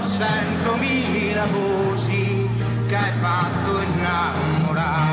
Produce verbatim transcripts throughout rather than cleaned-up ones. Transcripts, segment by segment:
centomila voci che hai fatto innamorare.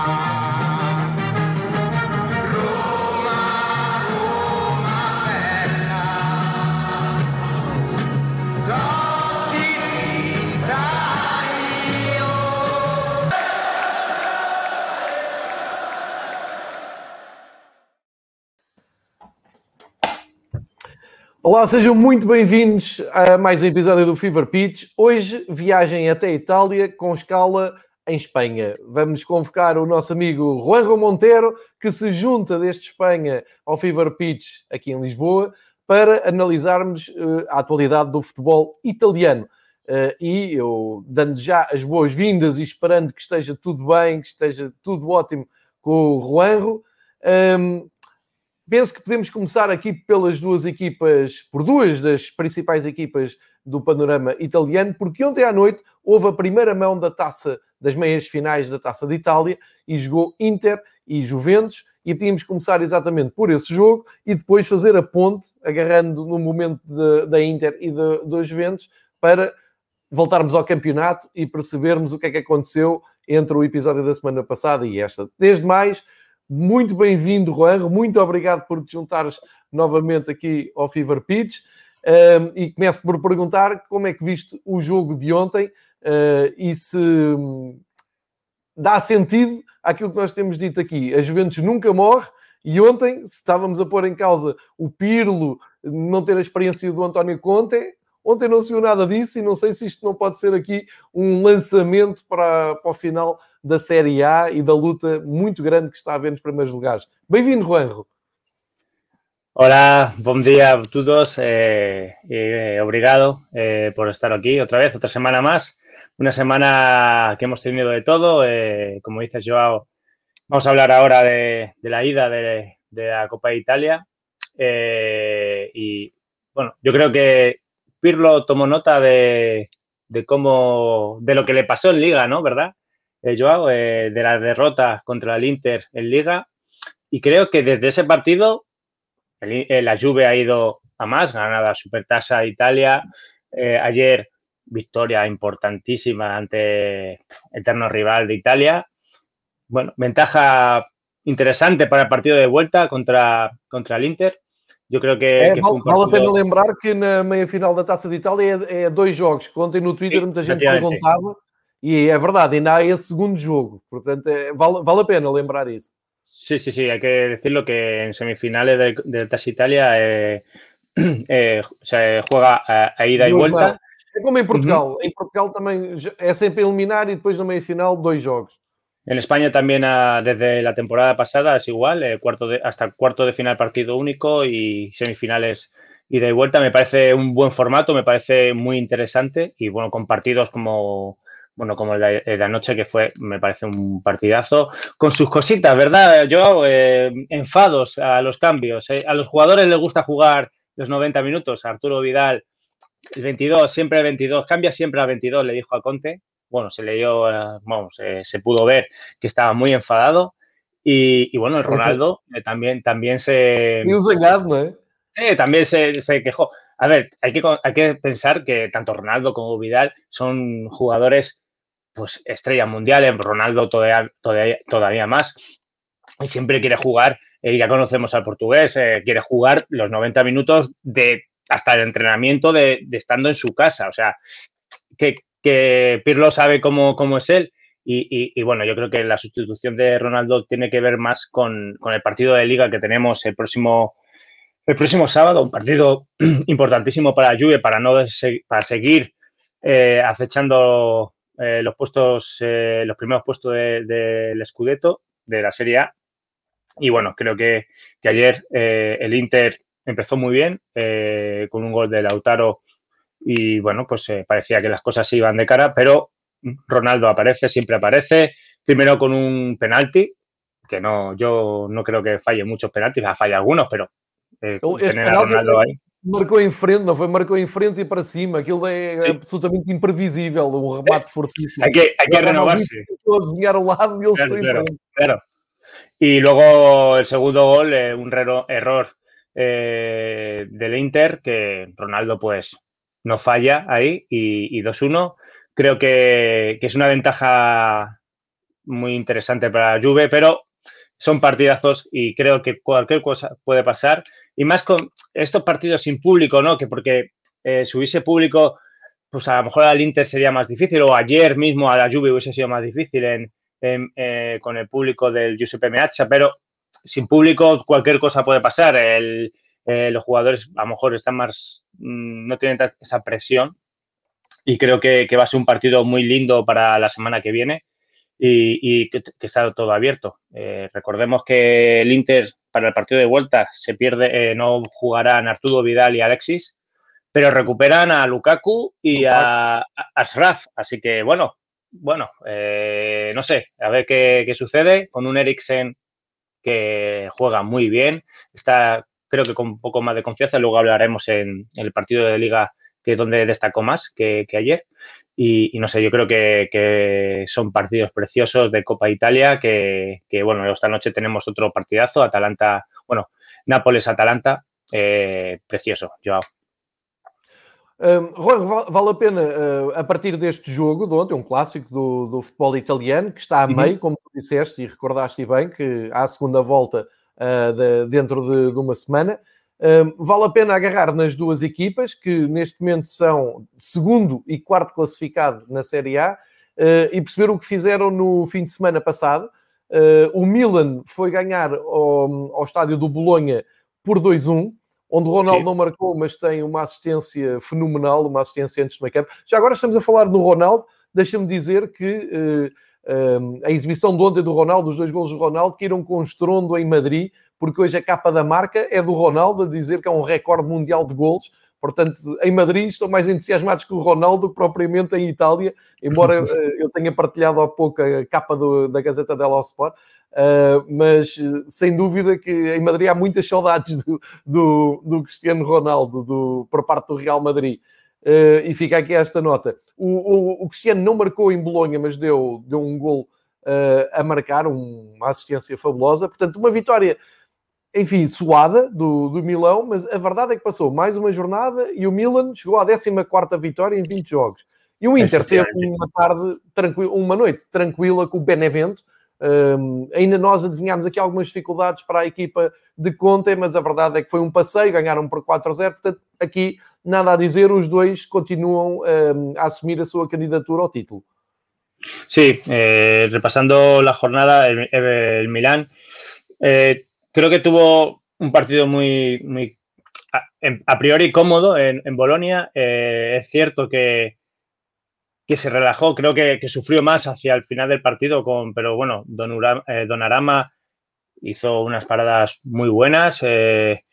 Olá, sejam muito bem-vindos a mais um episódio do Fever Pitch. Hoje, viagem até a Itália com escala em Espanha. Vamos convocar o nosso amigo Juanjo Monteiro, que se junta desde Espanha ao Fever Pitch aqui em Lisboa, para analisarmos uh, a atualidade do futebol italiano. Uh, e eu, dando já as boas-vindas e esperando que esteja tudo bem, que esteja tudo ótimo com o Juanjo, um, penso que podemos começar aqui pelas duas equipas, por duas das principais equipas do panorama italiano, porque ontem à noite houve a primeira mão da taça, das meias finais da Taça de Itália, e jogou Inter e Juventus, e tínhamos que começar exatamente por esse jogo e depois fazer a ponte, agarrando no momento de, da Inter e da Juventus, para voltarmos ao campeonato e percebermos o que é que aconteceu entre o episódio da semana passada e esta. Desde mais, muito bem-vindo, Juanjo. Muito obrigado por te juntares novamente aqui ao Fever Pitch. Um, e começo por perguntar como é que viste o jogo de ontem uh, e se um, dá sentido àquilo que nós temos dito aqui. A Juventus nunca morre e ontem, se estávamos a pôr em causa o Pirlo, não ter a experiência do António Conte, ontem não se viu nada disso e não sei se isto não pode ser aqui um lançamento para, para o final da Série A e da luta muito grande que está a haver nos primeiros lugares. Bem-vindo, Juanjo. Hola, buen día a todos. Eh, eh, obrigado eh, por estar aquí otra vez, otra semana más. Una semana que hemos tenido de todo. Eh, como dices, Joao, vamos a hablar ahora de, de la ida de, de la Copa de Italia. Eh, y bueno, yo creo que Pirlo tomó nota de, de cómo, de lo que le pasó en Liga, ¿no? ¿Verdad? Eh, Joao, eh, de la derrota contra el Inter en Liga. Y creo que desde ese partido el, eh, la Juve ha ido a más, ganada Supertasa de Italia. Eh, ayer victoria importantísima ante eterno rival de Italia. Bueno, ventaja interesante para el partido de vuelta contra, contra el Inter. Eu creio que, é, que vale, foi um partido... vale a pena lembrar que na meia-final da Taça de Itália é, é dois jogos, que ontem no Twitter Sim, muita gente perguntava, e é verdade, ainda há esse segundo jogo, portanto é, vale, vale a pena lembrar isso. Sí, sí, sí, hay que decirlo que en semifinales de, de Taça Italia eh, eh, se juega a, a ida e volta. É como em Portugal, uh-huh. Em Portugal também é sempre eliminar e depois na meia-final dois jogos. En España también a, desde la temporada pasada es igual, eh, cuarto de, hasta cuarto de final partido único y semifinales ida y vuelta. Me parece un buen formato, me parece muy interesante y bueno, con partidos como, bueno, como el de, el de anoche que fue, me parece un partidazo, con sus cositas, ¿verdad? Yo, eh, enfados a los cambios. Eh. A los jugadores les gusta jugar los noventa minutos. Arturo Vidal, el veintidós, siempre el veintidós, cambia siempre a veintidós, le dijo a Conte. Bueno, se leyó, vamos, eh, se pudo ver que estaba muy enfadado y, y bueno, el Ronaldo eh, también, también se... Y un zangado, ¿no? Eh, también se, se quejó. A ver, hay que, hay que pensar que tanto Ronaldo como Vidal son jugadores, pues, estrellas mundiales, Ronaldo todavía, todavía, todavía más, y siempre quiere jugar, eh, ya conocemos al portugués, eh, quiere jugar los noventa minutos de hasta el entrenamiento de, de estando en su casa, o sea, que... que Pirlo sabe cómo, cómo es él y, y, y, bueno, yo creo que la sustitución de Ronaldo tiene que ver más con, con el partido de Liga que tenemos el próximo, el próximo sábado, un partido importantísimo para Juve, para, no, para seguir eh, acechando eh, los puestos, eh, los primeros puestos del de, de Scudetto, de la Serie A. Y bueno, creo que, que ayer eh, el Inter empezó muy bien, eh, con un gol de Lautaro. Y bueno, pues eh, parecía que las cosas se iban de cara, pero Ronaldo aparece, siempre aparece, primero con un penalti, que no, yo no creo que falle muchos penaltis, falla algunos, pero eh, tener a Ronaldo aí... Marcou em frente, não foi? Marcou em frente e para cima, aquilo é sí. absolutamente imprevisível, um remate fortíssimo. Hay que, hay que renovarse. Estou a desenhar ao lado e ele claro, estou claro, em frente. Claro. Y luego el segundo gol, eh, un error eh, del Inter, que Ronaldo pues no falla ahí y, y dos uno. Creo que, que es una ventaja muy interesante para la Juve, pero son partidazos y creo que cualquier cosa puede pasar. Y más con estos partidos sin público, ¿no? Que porque eh, si hubiese público, pues a lo mejor al Inter sería más difícil, o ayer mismo a la Juve hubiese sido más difícil en, en, eh, con el público del Giuseppe Meazza, pero sin público cualquier cosa puede pasar. El, eh, los jugadores a lo mejor están más, mmm, no tienen esa presión y creo que, que va a ser un partido muy lindo para la semana que viene y, y que, que está todo abierto. Eh, recordemos que el Inter para el partido de vuelta se pierde, eh, no jugarán Arturo Vidal y Alexis, pero recuperan a Lukaku y a, a Ashraf, así que bueno, bueno, eh, no sé, a ver qué, qué sucede con un Eriksen que juega muy bien, está creo que con un poco más de confianza, luego hablaremos en, en el partido de Liga que es donde destacó más que, que ayer y, y no sé, yo creo que, que son partidos preciosos de Copa Italia que, que bueno, esta noche tenemos otro partidazo, Atalanta, bueno, Nápoles-Atalanta, eh, precioso, Joao. Um, Juan, vale a pena, uh, a partir deste jogo de ontem, um clássico do, do futebol italiano, que está a meio, uhum. Como tu disseste e recordaste bem, que há a segunda volta uh, de, dentro de, de uma semana. Um, vale a pena agarrar nas duas equipas, que neste momento são segundo e quarto classificado na Série A, uh, e perceber o que fizeram no fim de semana passado. Uh, o Milan foi ganhar ao, ao estádio do Bolonha por dois a um, onde o Ronaldo Sim. não marcou, mas tem uma assistência fenomenal, uma assistência antes do meio campo. Já agora estamos a falar no Ronaldo, deixa-me dizer que uh, uh, a exibição de ontem do Ronaldo, os dois golos do Ronaldo, caíram com estrondo em Madrid, porque hoje a capa da marca é do Ronaldo, a dizer que é um recorde mundial de golos. Portanto, em Madrid estão mais entusiasmados com o Ronaldo que propriamente em Itália, embora uh, eu tenha partilhado há pouco a capa do, da Gazeta dello Sport. Uh, mas sem dúvida que em Madrid há muitas saudades do, do, do Cristiano Ronaldo do, por parte do Real Madrid, uh, e fica aqui esta nota. O, o, o Cristiano não marcou em Bolonha, mas deu, deu um gol uh, a marcar, um, uma assistência fabulosa, portanto uma vitória, enfim, suada do, do Milão, mas a verdade é que passou mais uma jornada e o Milan chegou à décima quarta vitória em vinte jogos, e o Inter teve uma tarde, tranquila, uma noite tranquila com o Benevento. Um, ainda nós adivinhámos aqui algumas dificuldades para a equipa de Conte, mas a verdade é que foi um passeio, ganharam por quatro a zero, portanto aqui nada a dizer, os dois continuam um, a assumir a sua candidatura ao título. Sí, eh, repasando la jornada, el, el Milán eh, creo que tuvo un partido muy, muy a, a priori cómodo en, en Bolonia. Eh, es cierto que que se relajó, creo que, que sufrió más hacia el final del partido, con, pero bueno, Donnarumma, eh, Donnarumma hizo unas paradas muy buenas, eh,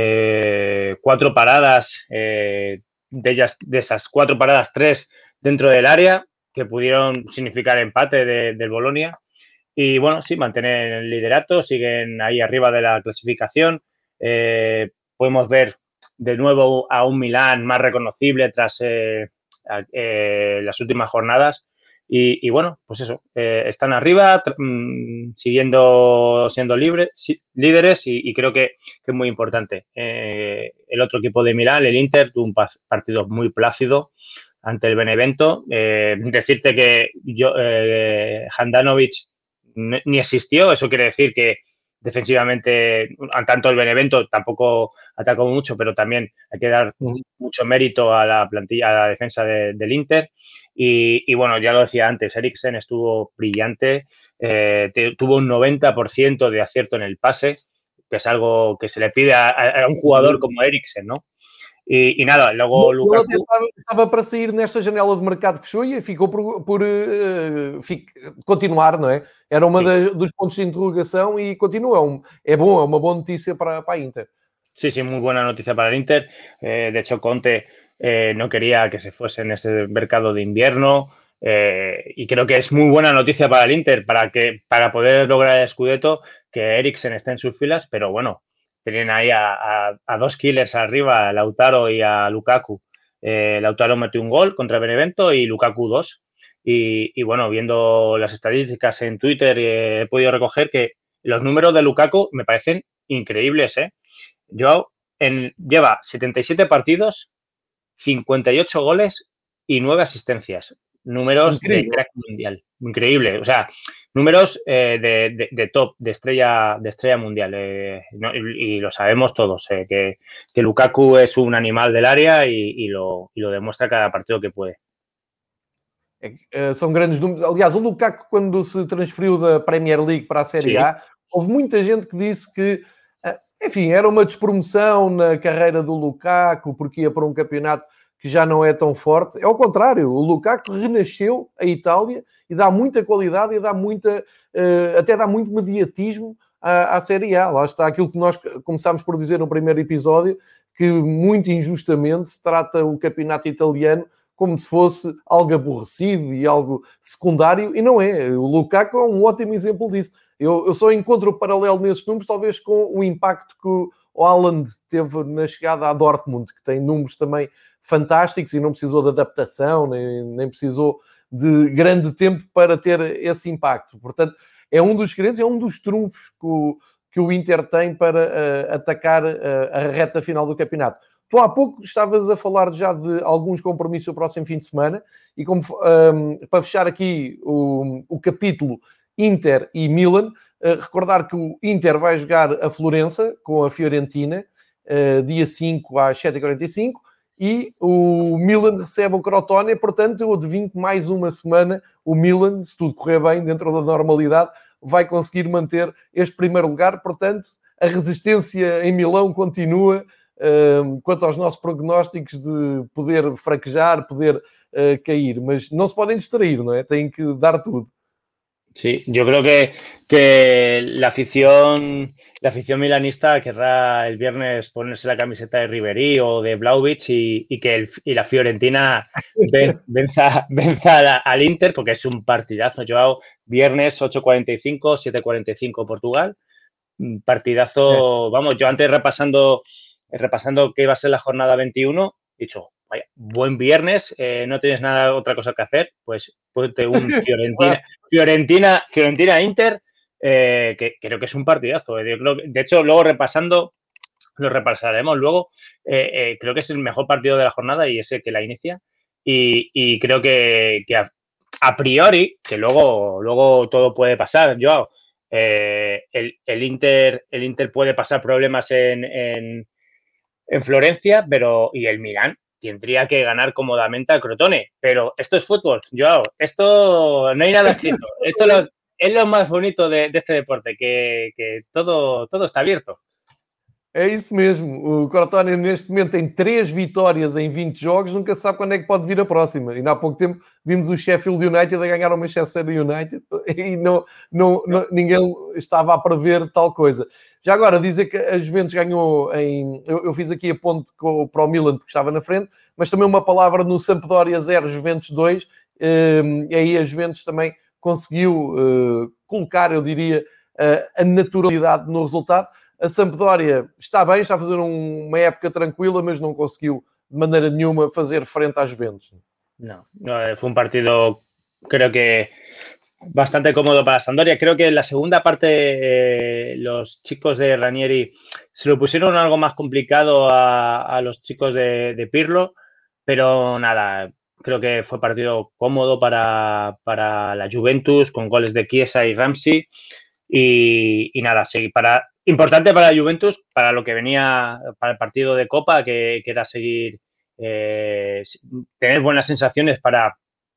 eh, cuatro paradas, eh, de ellas, de esas cuatro paradas, tres dentro del área, que pudieron significar empate de, del Bolonia. Y bueno, sí, mantienen el liderato, siguen ahí arriba de la clasificación. Eh, podemos ver de nuevo a un Milán más reconocible tras eh, eh, las últimas jornadas. Y, y bueno, pues eso, eh, están arriba, mmm, siguiendo siendo libre, sí, líderes y, y creo que, que es muy importante. Eh, el otro equipo de Milán, el Inter, tuvo un partido muy plácido ante el Benevento. Eh, decirte que yo, eh, Handanovic ni existió, eso quiere decir que defensivamente, tanto el Benevento tampoco atacó mucho, pero también hay que dar uh-huh. mucho mérito a la plantilla, a la defensa de, del Inter. Y, y bueno, ya lo decía antes, Eriksen estuvo brillante, eh, te, tuvo un noventa por ciento de acierto en el pase, que es algo que se le pide a, a un jugador como Eriksen, ¿no? E, e nada, logo Ele Lukaku... estava, estava para sair nesta janela de mercado que fechou e ficou por, por uh, fic, continuar, não é? Era uma das, dos pontos de interrogação e continua. É, um, é bom, é uma boa notícia para, para a Inter. Sí, sí, muy buena noticia para el Inter. Eh, de hecho, Conte eh, no quería que se fuese en ese mercado de invierno eh, y creo que es muy buena noticia para el Inter para, que, para poder lograr el Scudetto, que Eriksen esté en sus filas, pero bueno, tenían ahí a, a, a dos killers arriba, a Lautaro y a Lukaku. Eh, Lautaro metió un gol contra Benevento y Lukaku dos. Y, y bueno, viendo las estadísticas en Twitter, eh, he podido recoger que los números de Lukaku me parecen increíbles, ¿eh? Joao en, lleva setenta y siete partidos, cincuenta y ocho goles y nueve asistencias. Números Increíble. de crack mundial. Increíble. O sea, números eh, de, de, de top, de estrella, de estrella mundial. Eh, no, y, y lo sabemos todos, eh, que, que Lukaku es un animal del área y, y, lo, y lo demuestra cada partido que puede. É, são grandes números. Aliás, o Lukaku, quando se transferiu da Premier League para a Série A, Sim. houve muita gente que disse que, enfim, era uma despromoção na carreira do Lukaku, porque ia para um campeonato que já não é tão forte. É ao contrário, o Lukaku renasceu a Itália e dá muita qualidade e dá muita, até dá muito mediatismo à, à Série A. Lá está aquilo que nós começámos por dizer no primeiro episódio, que muito injustamente se trata o campeonato italiano como se fosse algo aborrecido e algo secundário, e não é. O Lukaku é um ótimo exemplo disso. Eu, eu só encontro o paralelo nesses números, talvez com o impacto que o Haaland teve na chegada à Dortmund, que tem números também fantásticos e não precisou de adaptação, nem, nem precisou de grande tempo para ter esse impacto. Portanto, é um dos segredos, é um dos trunfos que o, que o Inter tem para uh, atacar uh, a reta final do campeonato. Tu há pouco estavas a falar já de alguns compromissos no próximo fim de semana e como, um, para fechar aqui o, o capítulo Inter e Milan, uh, recordar que o Inter vai jogar a Florença com a Fiorentina, uh, dia cinco às sete e quarenta e cinco, e o Milan recebe o Crotone, portanto eu adivinho que mais uma semana o Milan, se tudo correr bem dentro da normalidade, vai conseguir manter este primeiro lugar, portanto a resistência em Milão continua. Uh, quanto aos nossos prognósticos de poder fraquejar, poder uh, cair, mas não se podem distrair, ¿no? Têm que dar tudo. Sí, yo creo que, que la afición la afición milanista querrá el viernes ponerse la camiseta de Ribéry o de Vlahovic y, y que el, y la Fiorentina ven, venza, venza la, al Inter, porque es un partidazo. Joao, viernes ocho cuarenta y cinco, siete cuarenta y cinco Portugal, partidazo. Sí. Vamos, yo antes repasando repasando qué iba a ser la jornada veintiuno, he dicho, vaya, buen viernes, eh, no tienes nada, otra cosa que hacer, pues ponte un Fiorentina, Fiorentina, Fiorentina Inter, eh, que creo que es un partidazo. Eh. Creo que, de hecho, luego repasando, lo repasaremos luego, eh, eh, creo que es el mejor partido de la jornada y es el que la inicia. Y, y creo que, que a, a priori, que luego, luego todo puede pasar, Joao, eh, el, el, Inter, el Inter puede pasar problemas en, en en Florencia, pero y el Milán tendría que ganar cómodamente al Crotone. Pero esto es fútbol, Joao. Esto no hay nada escrito. Esto lo, es lo más bonito de, de este deporte, que, que todo, todo está abierto. É isso mesmo. O Crotone neste momento tem três vitórias em vinte jogos, nunca se sabe quando é que pode vir a próxima. E há pouco tempo vimos o Sheffield United a ganhar o Manchester United e não, não, não, ninguém estava a prever tal coisa. Já agora, dizer que a Juventus ganhou em... Eu, eu fiz aqui a ponte com, para o Milan porque estava na frente, mas também uma palavra no Sampdoria zero, Juventus dois, e aí a Juventus também conseguiu uh, colocar, eu diria, uh, a naturalidade no resultado. A Sampdoria está bem, está a fazer um, uma época tranquila, mas não conseguiu de maneira nenhuma fazer frente à Juventus. No, no, fue un partido, creo que bastante cómodo para Sampdoria. Creo que en la segunda parte eh, los chicos de Ranieri se lo pusieron algo más complicado a, a los chicos de, de Pirlo, pero nada, creo que fue partido cómodo para, para la Juventus, con goles de Chiesa y Ramsey. Y, y nada, sí, para, importante para la Juventus, para lo que venía, para el partido de Copa, que, que era seguir, eh, tener buenas sensaciones para,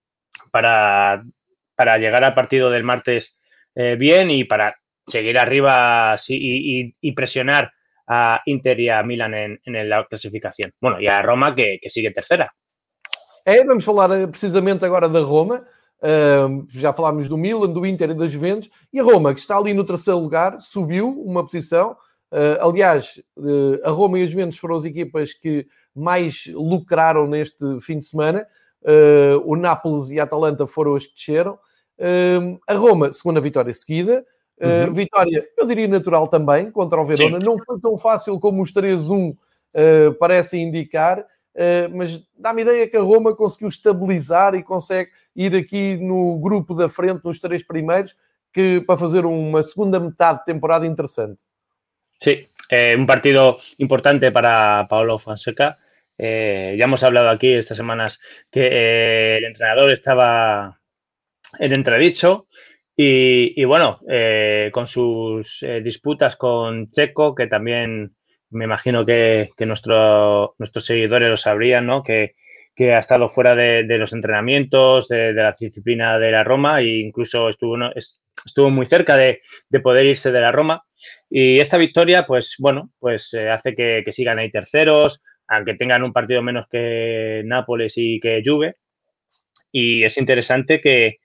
para, para llegar al partido del martes eh, bien y para seguir arriba sí, y, y, y presionar a Inter y a Milan en, en la clasificación. Bueno, y a Roma, que, que sigue tercera. É, vamos falar precisamente agora da Roma. Uh, já falámos do Milan, do Inter e da Juventus, e a Roma, que está ali no terceiro lugar, subiu uma posição. Uh, aliás, uh, a Roma e a Juventus foram as equipas que mais lucraram neste fim de semana. Uh, o Nápoles e a Atalanta foram as que desceram. Uh, a Roma, segunda vitória seguida. Uh, uhum. Vitória, eu diria natural também, contra o Verona. Sim. Não foi tão fácil como os três a um uh, parecem indicar, uh, mas dá-me a ideia que a Roma conseguiu estabilizar e consegue ir aqui no grupo da frente, nos três primeiros, que para fazer uma segunda metade de temporada interessante. Sí, eh, un partido importante para Paulo Fonseca, Eh, ya hemos hablado aquí estas semanas que eh, el entrenador estaba en entredicho y, y bueno, eh, con sus eh, disputas con Checo, que también me imagino que, que nuestro, nuestros seguidores lo sabrían, ¿no? Que, que ha estado fuera de, de los entrenamientos, de, de, la disciplina de la Roma e incluso estuvo, ¿no? estuvo muy cerca de, de poder irse de la Roma. Y esta victoria, pues bueno, pues eh, hace que, que sigan ahí terceros, aunque tengan un partido menos que Nápoles y que Juve. Y es interesante que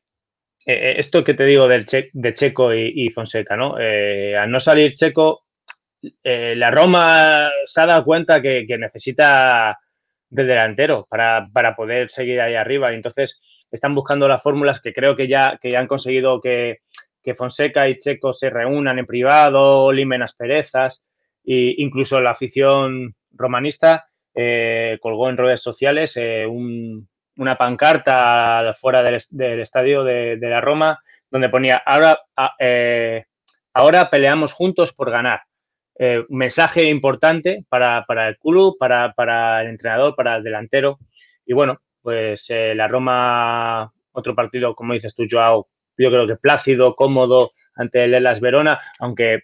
eh, esto que te digo del che, de Checo y, y Fonseca, ¿no? Eh, al no salir Checo, eh, la Roma se ha dado cuenta que, que necesita del delantero para, para poder seguir ahí arriba. Y entonces están buscando las fórmulas que creo que ya, que ya han conseguido que, que Fonseca y Checo se reúnan en privado, limen asperezas, e incluso la afición romanista eh, colgó en redes sociales eh, un, una pancarta fuera del, del estadio de, de, la Roma donde ponía ahora, eh, ahora peleamos juntos por ganar. Eh, un mensaje importante para, para el club, para, para, el entrenador, para el delantero. Y bueno, pues eh, la Roma, otro partido, como dices tú, Joao, yo creo que plácido, cómodo ante el Hellas Verona, aunque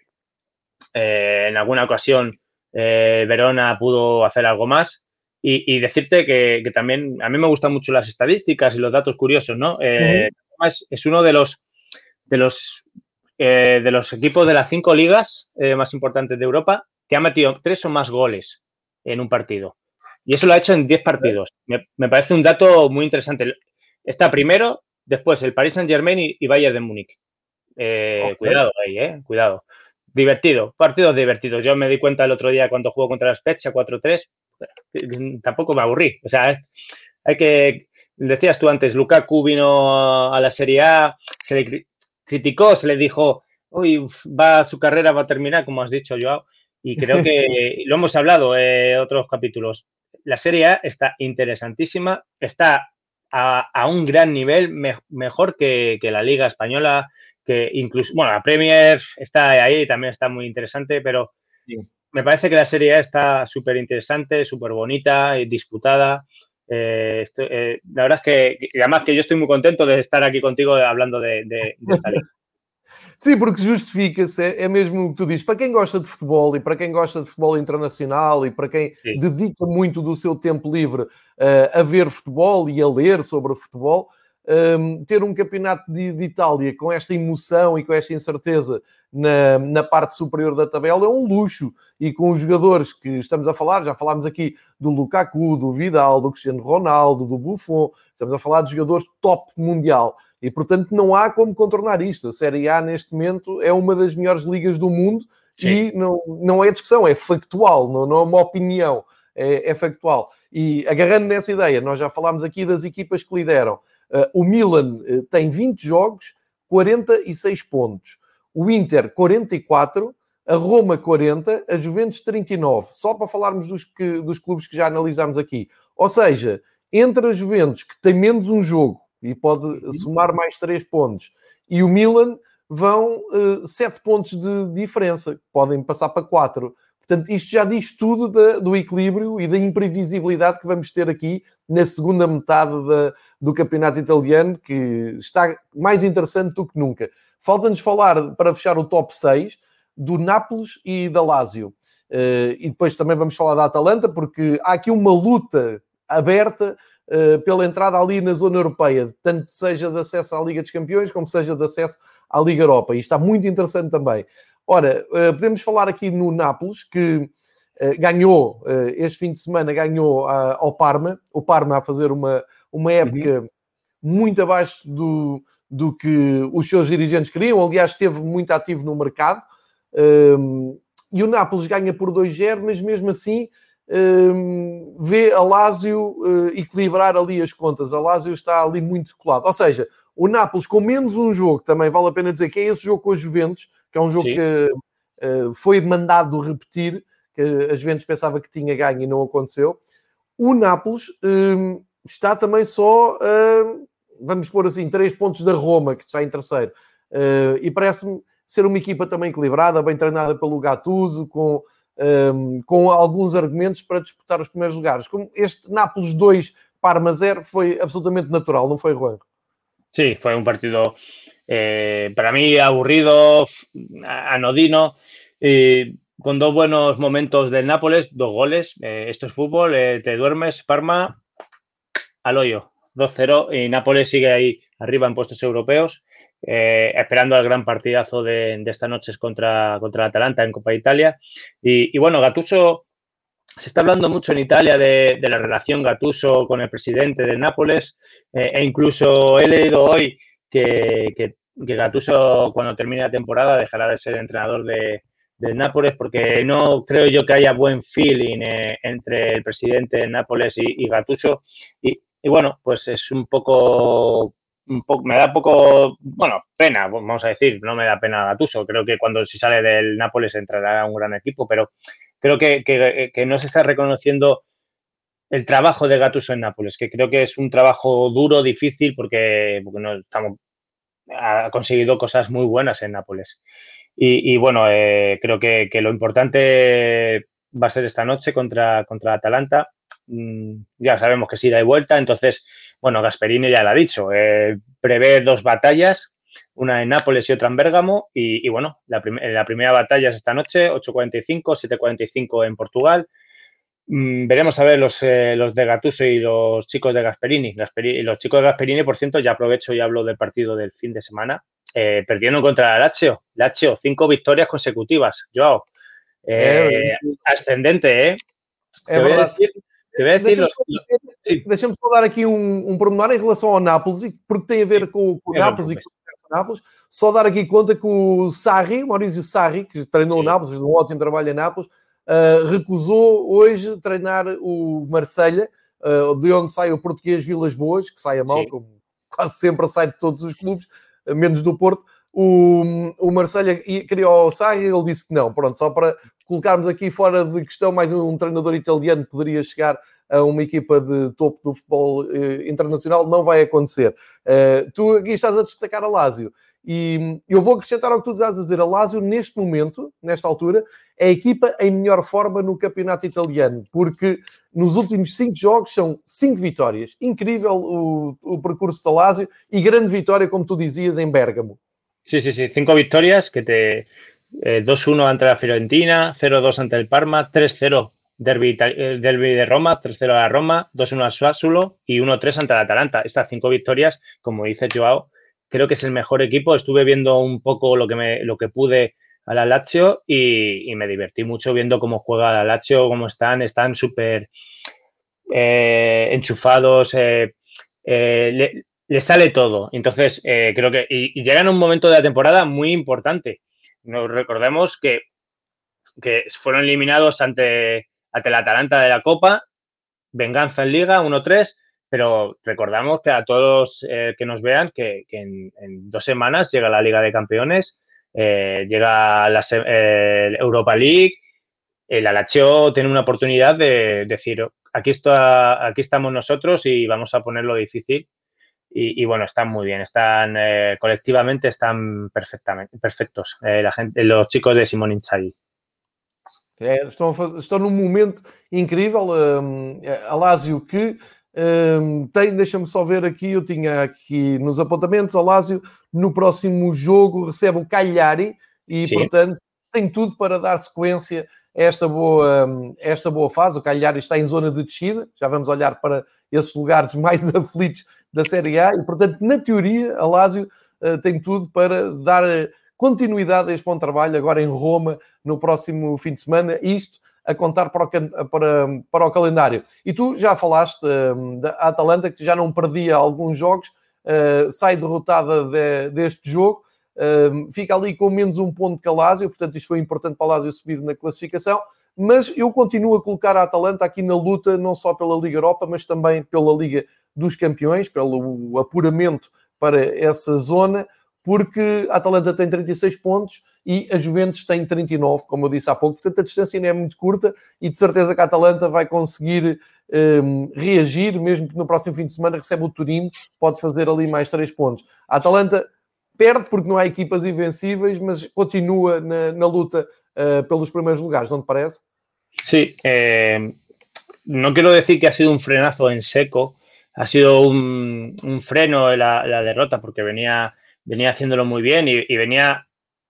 eh, en alguna ocasión eh, Verona pudo hacer algo más. Y, y decirte que, que también a mí me gustan mucho las estadísticas y los datos curiosos, ¿no? Eh, uh-huh. es, es uno de los de los eh, de los equipos de las cinco ligas eh, más importantes de Europa que ha metido tres o más goles en un partido. Y eso lo ha hecho en diez partidos. Me, me parece un dato muy interesante. Está primero, después el Paris Saint-Germain y, y Bayern de Múnich. Eh, okay. Cuidado ahí, eh, cuidado. Divertido, partidos divertidos. Yo me di cuenta el otro día cuando jugó contra la Spezia cuatro tres, tampoco me aburrí. O sea, hay que, decías tú antes, Lukaku vino a la Serie A, se le criticó, se le dijo, uy, va su carrera va a terminar, como has dicho, Joao, y creo que sí. Lo hemos hablado en eh, otros capítulos. La Serie A está interesantísima, está a, a un gran nivel, me, mejor que, que la Liga Española, que incluso, bueno, la Premier está ahí, también está muy interesante, pero sí. Me parece que la Serie A está súper interesante, súper bonita y disputada. Eh, esto, eh, la verdad es que, además que yo estoy muy contento de estar aquí contigo hablando de, de, de esta liga. Sim, porque justifica-se, é, é mesmo o que tu dizes, para quem gosta de futebol e para quem gosta de futebol internacional e para quem Sim. dedica muito do seu tempo livre uh, a ver futebol e a ler sobre futebol, um, ter um campeonato de, de Itália com esta emoção e com esta incerteza na, na parte superior da tabela é um luxo. E com os jogadores que estamos a falar, já falámos aqui do Lukaku, do Vidal, do Cristiano Ronaldo, do Buffon, estamos a falar de jogadores top mundial. E, portanto, não há como contornar isto. A Série A, neste momento, é uma das melhores ligas do mundo. Sim. E não, não é discussão, é factual, não, não é uma opinião, é, é factual. E, agarrando nessa ideia, nós já falámos aqui das equipas que lideram. Uh, o Milan uh, tem vinte jogos, quarenta e seis pontos. O Inter, quarenta e quatro. A Roma, quarenta. A Juventus, trinta e nove. Só para falarmos dos, que, dos clubes que já analisámos aqui. Ou seja, entre a Juventus, que tem menos um jogo, e pode uhum. somar mais três pontos. E o Milan vão uh, sete pontos de diferença. Podem passar para quatro. Portanto, isto já diz tudo da, do equilíbrio e da imprevisibilidade que vamos ter aqui na segunda metade da, do campeonato italiano, que está mais interessante do que nunca. Falta-nos falar, para fechar o top seis, do Nápoles e da Lazio. Uh, e depois também vamos falar da Atalanta, porque há aqui uma luta aberta Uh, pela entrada ali na zona europeia, tanto seja de acesso à Liga dos Campeões, como seja de acesso à Liga Europa. E está muito interessante também. Ora, uh, podemos falar aqui no Nápoles, que uh, ganhou, uh, este fim de semana, ganhou uh, ao Parma. O Parma a fazer uma, uma época uhum. muito abaixo do, do que os seus dirigentes queriam. Aliás, esteve muito ativo no mercado. Uh, e o Nápoles ganha por dois zero, mas mesmo assim Um, vê a Lazio uh, equilibrar ali as contas. A Lazio está ali muito colado. Ou seja, o Nápoles com menos um jogo, também vale a pena dizer que é esse jogo com a Juventus, que é um jogo Sim. que uh, foi mandado repetir, que a Juventus pensava que tinha ganho e não aconteceu. O Nápoles um, está também só, uh, vamos pôr assim, três pontos da Roma, que está em terceiro. Uh, e parece-me ser uma equipa também equilibrada, bem treinada pelo Gattuso, com um, com alguns argumentos para disputar os primeiros lugares. Como este Nápoles dois, Parma zero, foi absolutamente natural, não foi, Juan? Sí, fue un partido eh, para mí aburrido, anodino, eh, con dos buenos momentos del Nápoles, dos goles. Eh, esto es fútbol, eh, te duermes, Parma al hoyo, dos cero, y Nápoles sigue ahí arriba en puestos europeos, eh, esperando al gran partidazo de, de esta noche contra, contra el Atalanta en Copa de Italia. Y, y bueno, Gattuso, se está hablando mucho en Italia de, de la relación Gattuso con el presidente de Nápoles, eh, e incluso he leído hoy que, que, que Gattuso, cuando termine la temporada, dejará de ser entrenador de, del Nápoles, porque no creo yo que haya buen feeling eh, entre el presidente de Nápoles y, y Gattuso. Y, y bueno, pues es un poco, un poco, me da poco, bueno, pena, vamos a decir, no me da pena Gattuso. Creo que cuando si sale del Nápoles entrará un gran equipo, pero creo que, que, que no se está reconociendo el trabajo de Gattuso en Nápoles, que creo que es un trabajo duro, difícil, porque, porque no estamos, ha conseguido cosas muy buenas en Nápoles. Y, y bueno, eh, creo que, que lo importante va a ser esta noche contra, contra Atalanta. Mm, ya sabemos que sí da y vuelta, entonces, bueno, Gasperini ya lo ha dicho, eh, prevé dos batallas, una en Nápoles y otra en Bérgamo, y, y bueno, la, prim la primera batalla es esta noche, ocho cuarenta y cinco, siete cuarenta y cinco en Portugal. Mm, veremos a ver los, eh, los de Gattuso y los chicos de Gasperini. Gasperini. Los chicos de Gasperini, por cierto, ya aprovecho y hablo del partido del fin de semana, eh, perdieron contra el Lazio, Lazio, cinco victorias consecutivas, Joao. Eh, ascendente, ¿eh? É te verdade. Decir, te voy a decir los... Sí. Deixa-me só dar aqui um, um pormenor em relação ao Nápoles, porque tem a ver com, com o Nápoles e com o Nápoles. Só dar aqui conta que o Sarri, Maurizio Sarri, que treinou o Nápoles, fez um ótimo trabalho em Nápoles, uh, recusou hoje treinar o Marselha, uh, de onde sai o português Vilas Boas, que sai a mal, Sim. como quase sempre sai de todos os clubes, menos do Porto. O, o Marselha queria o Sarri, ele disse que não. Pronto, só para colocarmos aqui fora de questão, mais um treinador italiano poderia chegar a uma equipa de topo do futebol eh, internacional, não vai acontecer. Uh, tu aqui estás a destacar a Lazio, e eu vou acrescentar ao que tu estás a dizer. A Lazio, neste momento, nesta altura, é a equipa em melhor forma no campeonato italiano, porque nos últimos cinco jogos são cinco vitórias. Incrível o, o percurso da Lazio, e grande vitória, como tu dizias, em Bérgamo. Sí, sí, sí, cinco victorias, que te eh, dos uno ante la Fiorentina, cero dos ante el Parma, tres cero derbi, eh, derbi de Roma, tres cero a la Roma, dos uno al Sassuolo y uno tres ante el Atalanta. Estas cinco victorias, como dice Joao, creo que es el mejor equipo. Estuve viendo un poco lo que, me, lo que pude a la Lazio y, y me divertí mucho viendo cómo juega la Lazio, cómo están, están súper eh, enchufados, eh, eh, le, le sale todo. Entonces, eh, creo que y, y llegan a un momento de la temporada muy importante. Nos recordemos que, que fueron eliminados ante, ante el Atalanta de la Copa, venganza en Liga, uno tres, pero recordamos que a todos eh, que nos vean que, que en, en dos semanas llega la Liga de Campeones, eh, llega la eh, Europa League, el Lazio tiene una oportunidad de decir, aquí, está, aquí estamos nosotros y vamos a ponerlo difícil. Y, y bueno, están muy bien, están eh, colectivamente están perfectamente perfectos eh, la gente, los chicos de Simone Inzaghi. É, estão, a fazer, estão num momento incrível. Um, a Lazio que um, tem, deixa-me só ver aqui, eu tinha aqui nos apontamentos, a Lazio no próximo jogo recebe o Cagliari e, Sim. portanto, tem tudo para dar sequência a esta boa, esta boa fase. O Cagliari está em zona de descida, já vamos olhar para esses lugares mais aflitos da Série A e, portanto, na teoria, a Lazio uh, tem tudo para dar continuidade a este bom trabalho agora em Roma no próximo fim de semana, isto a contar para o, para, para o calendário. E tu já falaste uh, da Atalanta, que já não perdia alguns jogos, uh, sai derrotada de, deste jogo, uh, fica ali com menos um ponto que a Lazio, portanto isto foi importante para a Lazio subir na classificação, mas eu continuo a colocar a Atalanta aqui na luta, não só pela Liga Europa, mas também pela Liga dos Campeões, pelo apuramento para essa zona, porque a Atalanta tem trinta e seis pontos e a Juventus tem trinta e nove, como eu disse há pouco. Portanto, a distância ainda é muito curta e de certeza que a Atalanta vai conseguir um, reagir, mesmo que no próximo fim de semana recebe o Turino, pode fazer ali mais três pontos. A Atalanta perde porque não há equipas invencíveis, mas continua na, na luta uh, pelos primeiros lugares, não te parece? Sí, eh, no quiero decir que ha sido un frenazo en seco, ha sido un, un freno la, la derrota porque venía, venía haciéndolo muy bien y, y venía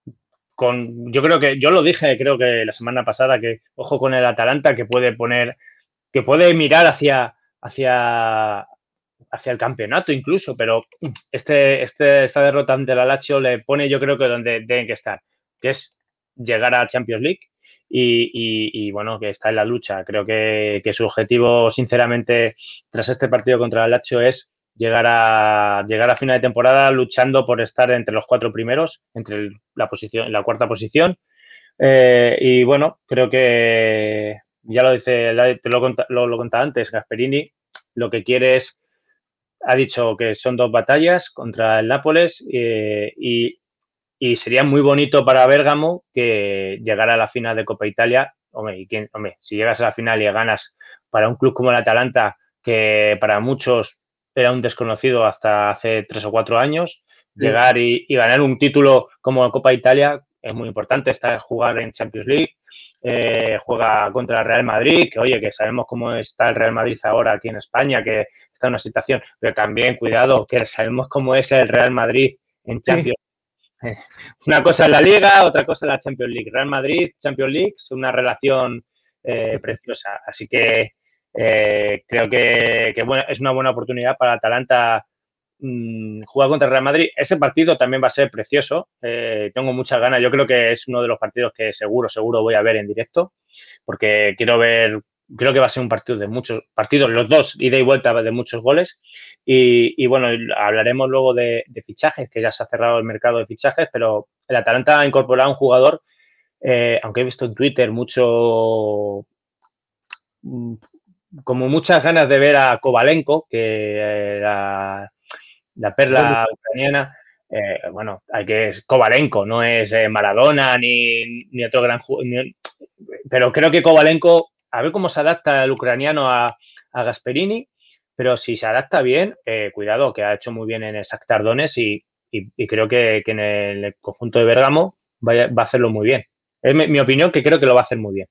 con, yo creo que, yo lo dije creo que la semana pasada, que ojo con el Atalanta que puede poner, que puede mirar hacia, hacia, hacia el campeonato incluso, pero este, este, esta derrota ante la Lazio le pone yo creo que donde deben que estar, que es llegar a Champions League y, y, y bueno, que está en la lucha. Creo que, que su objetivo, sinceramente, tras este partido contra la Lazio es llegar a llegar a final de temporada luchando por estar entre los cuatro primeros, entre el, la posición, la cuarta posición. Eh, y bueno, creo que ya lo dice, te lo, lo, lo contaba antes, Gasperini, lo que quiere es, ha dicho que son dos batallas contra el Nápoles eh, y, y sería muy bonito para Bérgamo que llegara a la final de Copa Italia. Hombre, ¿y quién, hombre, si llegas a la final y ganas para un club como el Atalanta, que para muchos era un desconocido hasta hace tres o cuatro años, sí. llegar y, y ganar un título como Copa Italia es muy importante. Está jugar en Champions League, eh, juega contra el Real Madrid, que oye, que sabemos cómo está el Real Madrid ahora aquí en España, que está en una situación, pero también, cuidado, que sabemos cómo es el Real Madrid en Champions League. Sí. Una cosa es la Liga, otra cosa es la Champions League. Real Madrid, Champions League, es una relación eh, preciosa. Así que eh, creo que, que bueno, es una buena oportunidad para Atalanta mmm, jugar contra el Real Madrid. Ese partido también va a ser precioso. Eh, tengo muchas ganas. Yo creo que es uno de los partidos que seguro, seguro voy a ver en directo, porque quiero ver, creo que va a ser un partido de muchos partidos, los dos, ida y vuelta de muchos goles. Y, y bueno, hablaremos luego de, de fichajes, que ya se ha cerrado el mercado de fichajes, pero el Atalanta ha incorporado a un jugador, eh, aunque he visto en Twitter mucho, como muchas ganas de ver a Kovalenko, que eh, la, la perla ucraniana, eh, bueno, hay que es Kovalenko, no es eh, Maradona ni, ni otro gran jugador, pero creo que Kovalenko, a ver cómo se adapta el ucraniano a, a Gasperini. Pero si se adapta bien, eh, cuidado, que ha hecho muy bien en el Shakhtar Donetsk y, y, y creo que, que en el conjunto de Bérgamo va, va a hacerlo muy bien. Es mi, mi opinión, que creo que lo va a hacer muy bien.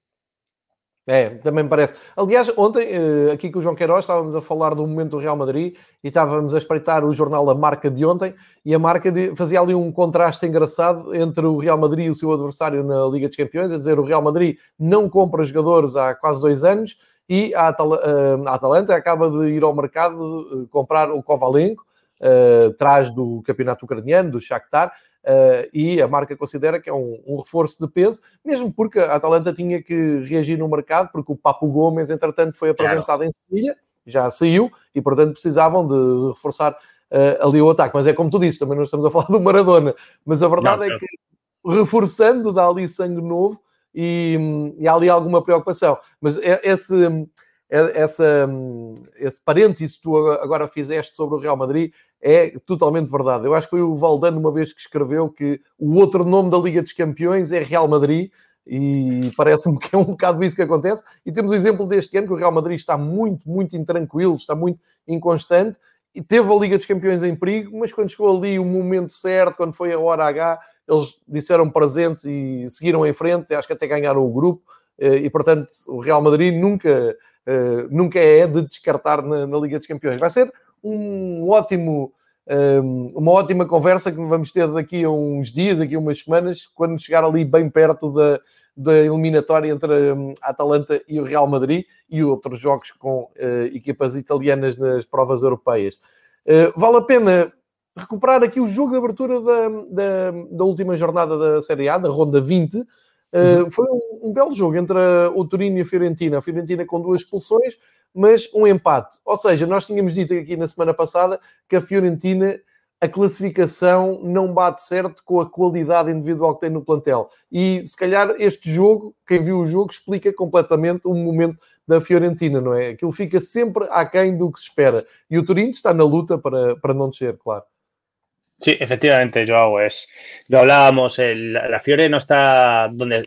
É, também me parece. Aliás, ontem, aqui com o João Queiroz, estávamos a falar do momento do Real Madrid e estávamos a espreitar o jornal A Marca de ontem e a Marca de, fazia ali um contraste engraçado entre o Real Madrid e o seu adversário na Liga dos Campeões, a dizer, o Real Madrid não compra jogadores há quase dois anos e a, Atal- a Atalanta acaba de ir ao mercado comprar o Kovalenko, uh, traz do campeonato ucraniano, do Shakhtar, Uh, e a Marca considera que é um, um reforço de peso, mesmo porque a Atalanta tinha que reagir no mercado, porque o Papu Gomes, entretanto, foi apresentado claro. em Sevilha, já saiu, e, portanto, precisavam de reforçar uh, ali o ataque. Mas é como tu disse, também não estamos a falar do Maradona, mas a verdade não, é não. que, reforçando, dá ali sangue novo e, e há ali alguma preocupação. Mas esse... Essa, esse parênteses que tu agora fizeste sobre o Real Madrid é totalmente verdade. Eu acho que foi o Valdano uma vez que escreveu que o outro nome da Liga dos Campeões é Real Madrid e parece-me que é um bocado isso que acontece. E temos o exemplo deste ano que o Real Madrid está muito, muito intranquilo, está muito inconstante e teve a Liga dos Campeões em perigo, mas quando chegou ali o momento certo, quando foi a hora H, eles disseram presentes e seguiram em frente, acho que até ganharam o grupo e, portanto, o Real Madrid nunca... Uh, nunca é de descartar na, na Liga dos Campeões. Vai ser um ótimo, um, uma ótima conversa que vamos ter daqui a uns dias, daqui a umas semanas, quando chegar ali bem perto da, da eliminatória entre a Atalanta e o Real Madrid e outros jogos com uh, equipas italianas nas provas europeias. Uh, vale a pena recuperar aqui o jogo de abertura da, da, da última jornada da Série A, da Ronda vinte. Uh, foi um, um belo jogo entre o Torino e a Fiorentina. A Fiorentina com duas expulsões, mas um empate. Ou seja, nós tínhamos dito aqui na semana passada que a Fiorentina, a classificação não bate certo com a qualidade individual que tem no plantel. E se calhar este jogo, quem viu o jogo, explica completamente o momento da Fiorentina, não é? Aquilo fica sempre aquém do que se espera. E o Torino está na luta para, para não descer, claro. Sí, efectivamente, Joao, es, lo hablábamos, el, la Fiore no está donde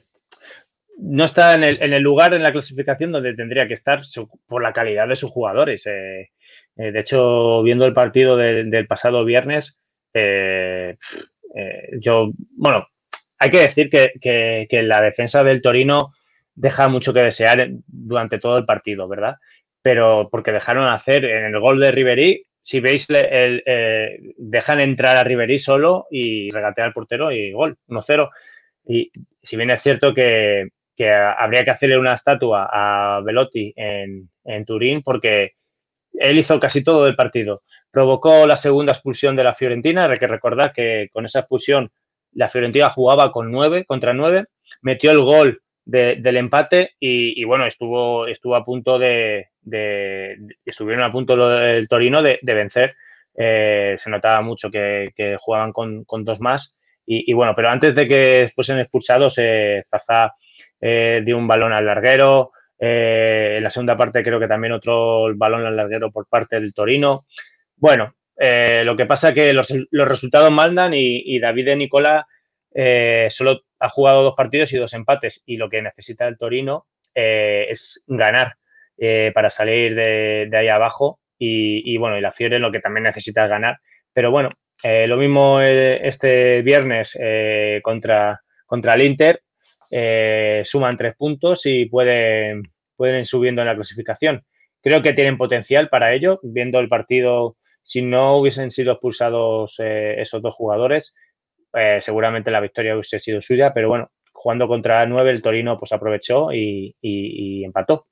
no está en el, en el lugar en la clasificación donde tendría que estar su, por la calidad de sus jugadores. Eh, eh, de hecho, viendo el partido de, del pasado viernes, eh, eh, yo, bueno, hay que decir que, que, que la defensa del Torino deja mucho que desear durante todo el partido, ¿verdad? Pero porque dejaron hacer en el gol de Ribéry, si veis, el, el, eh, dejan entrar a Ribéry solo y regatear al portero y gol, uno cero. Y si bien es cierto que, que habría que hacerle una estatua a Belotti en, en Turín porque él hizo casi todo el partido. Provocó la segunda expulsión de la Fiorentina. Hay que recordar que con esa expulsión la Fiorentina jugaba con nueve contra nueve, metió el gol de, del empate y, y, bueno, estuvo, estuvo a punto de, de, de estuvieron a punto el Torino de, de vencer. Eh, se notaba mucho que, que jugaban con, con dos más y, y bueno, pero antes de que fuesen expulsados, eh, Zaza eh, dio un balón al larguero. Eh, en la segunda parte creo que también otro balón al larguero por parte del Torino. Bueno, eh, lo que pasa es que los, los resultados mandan y, y David de Nicola eh, solo ha jugado dos partidos y dos empates y lo que necesita el Torino eh, es ganar eh, para salir de, de ahí abajo y, y bueno, y la Fiore lo que también necesita es ganar. Pero bueno, eh, lo mismo este viernes eh, contra, contra el Inter. Eh, suman tres puntos y pueden, pueden ir subiendo en la clasificación. Creo que tienen potencial para ello, viendo el partido, si no hubiesen sido expulsados eh, esos dos jugadores, eh, seguramente la victoria hubiese sido suya, pero bueno, jugando contra nueve el Torino pues aprovechó y, y, y empató.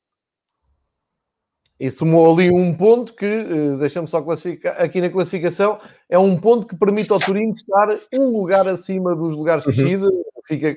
E somou ali um ponto que, deixa-me só classificar, aqui na classificação, é um ponto que permite ao Torino estar um lugar acima dos lugares de descida, uhum. Fica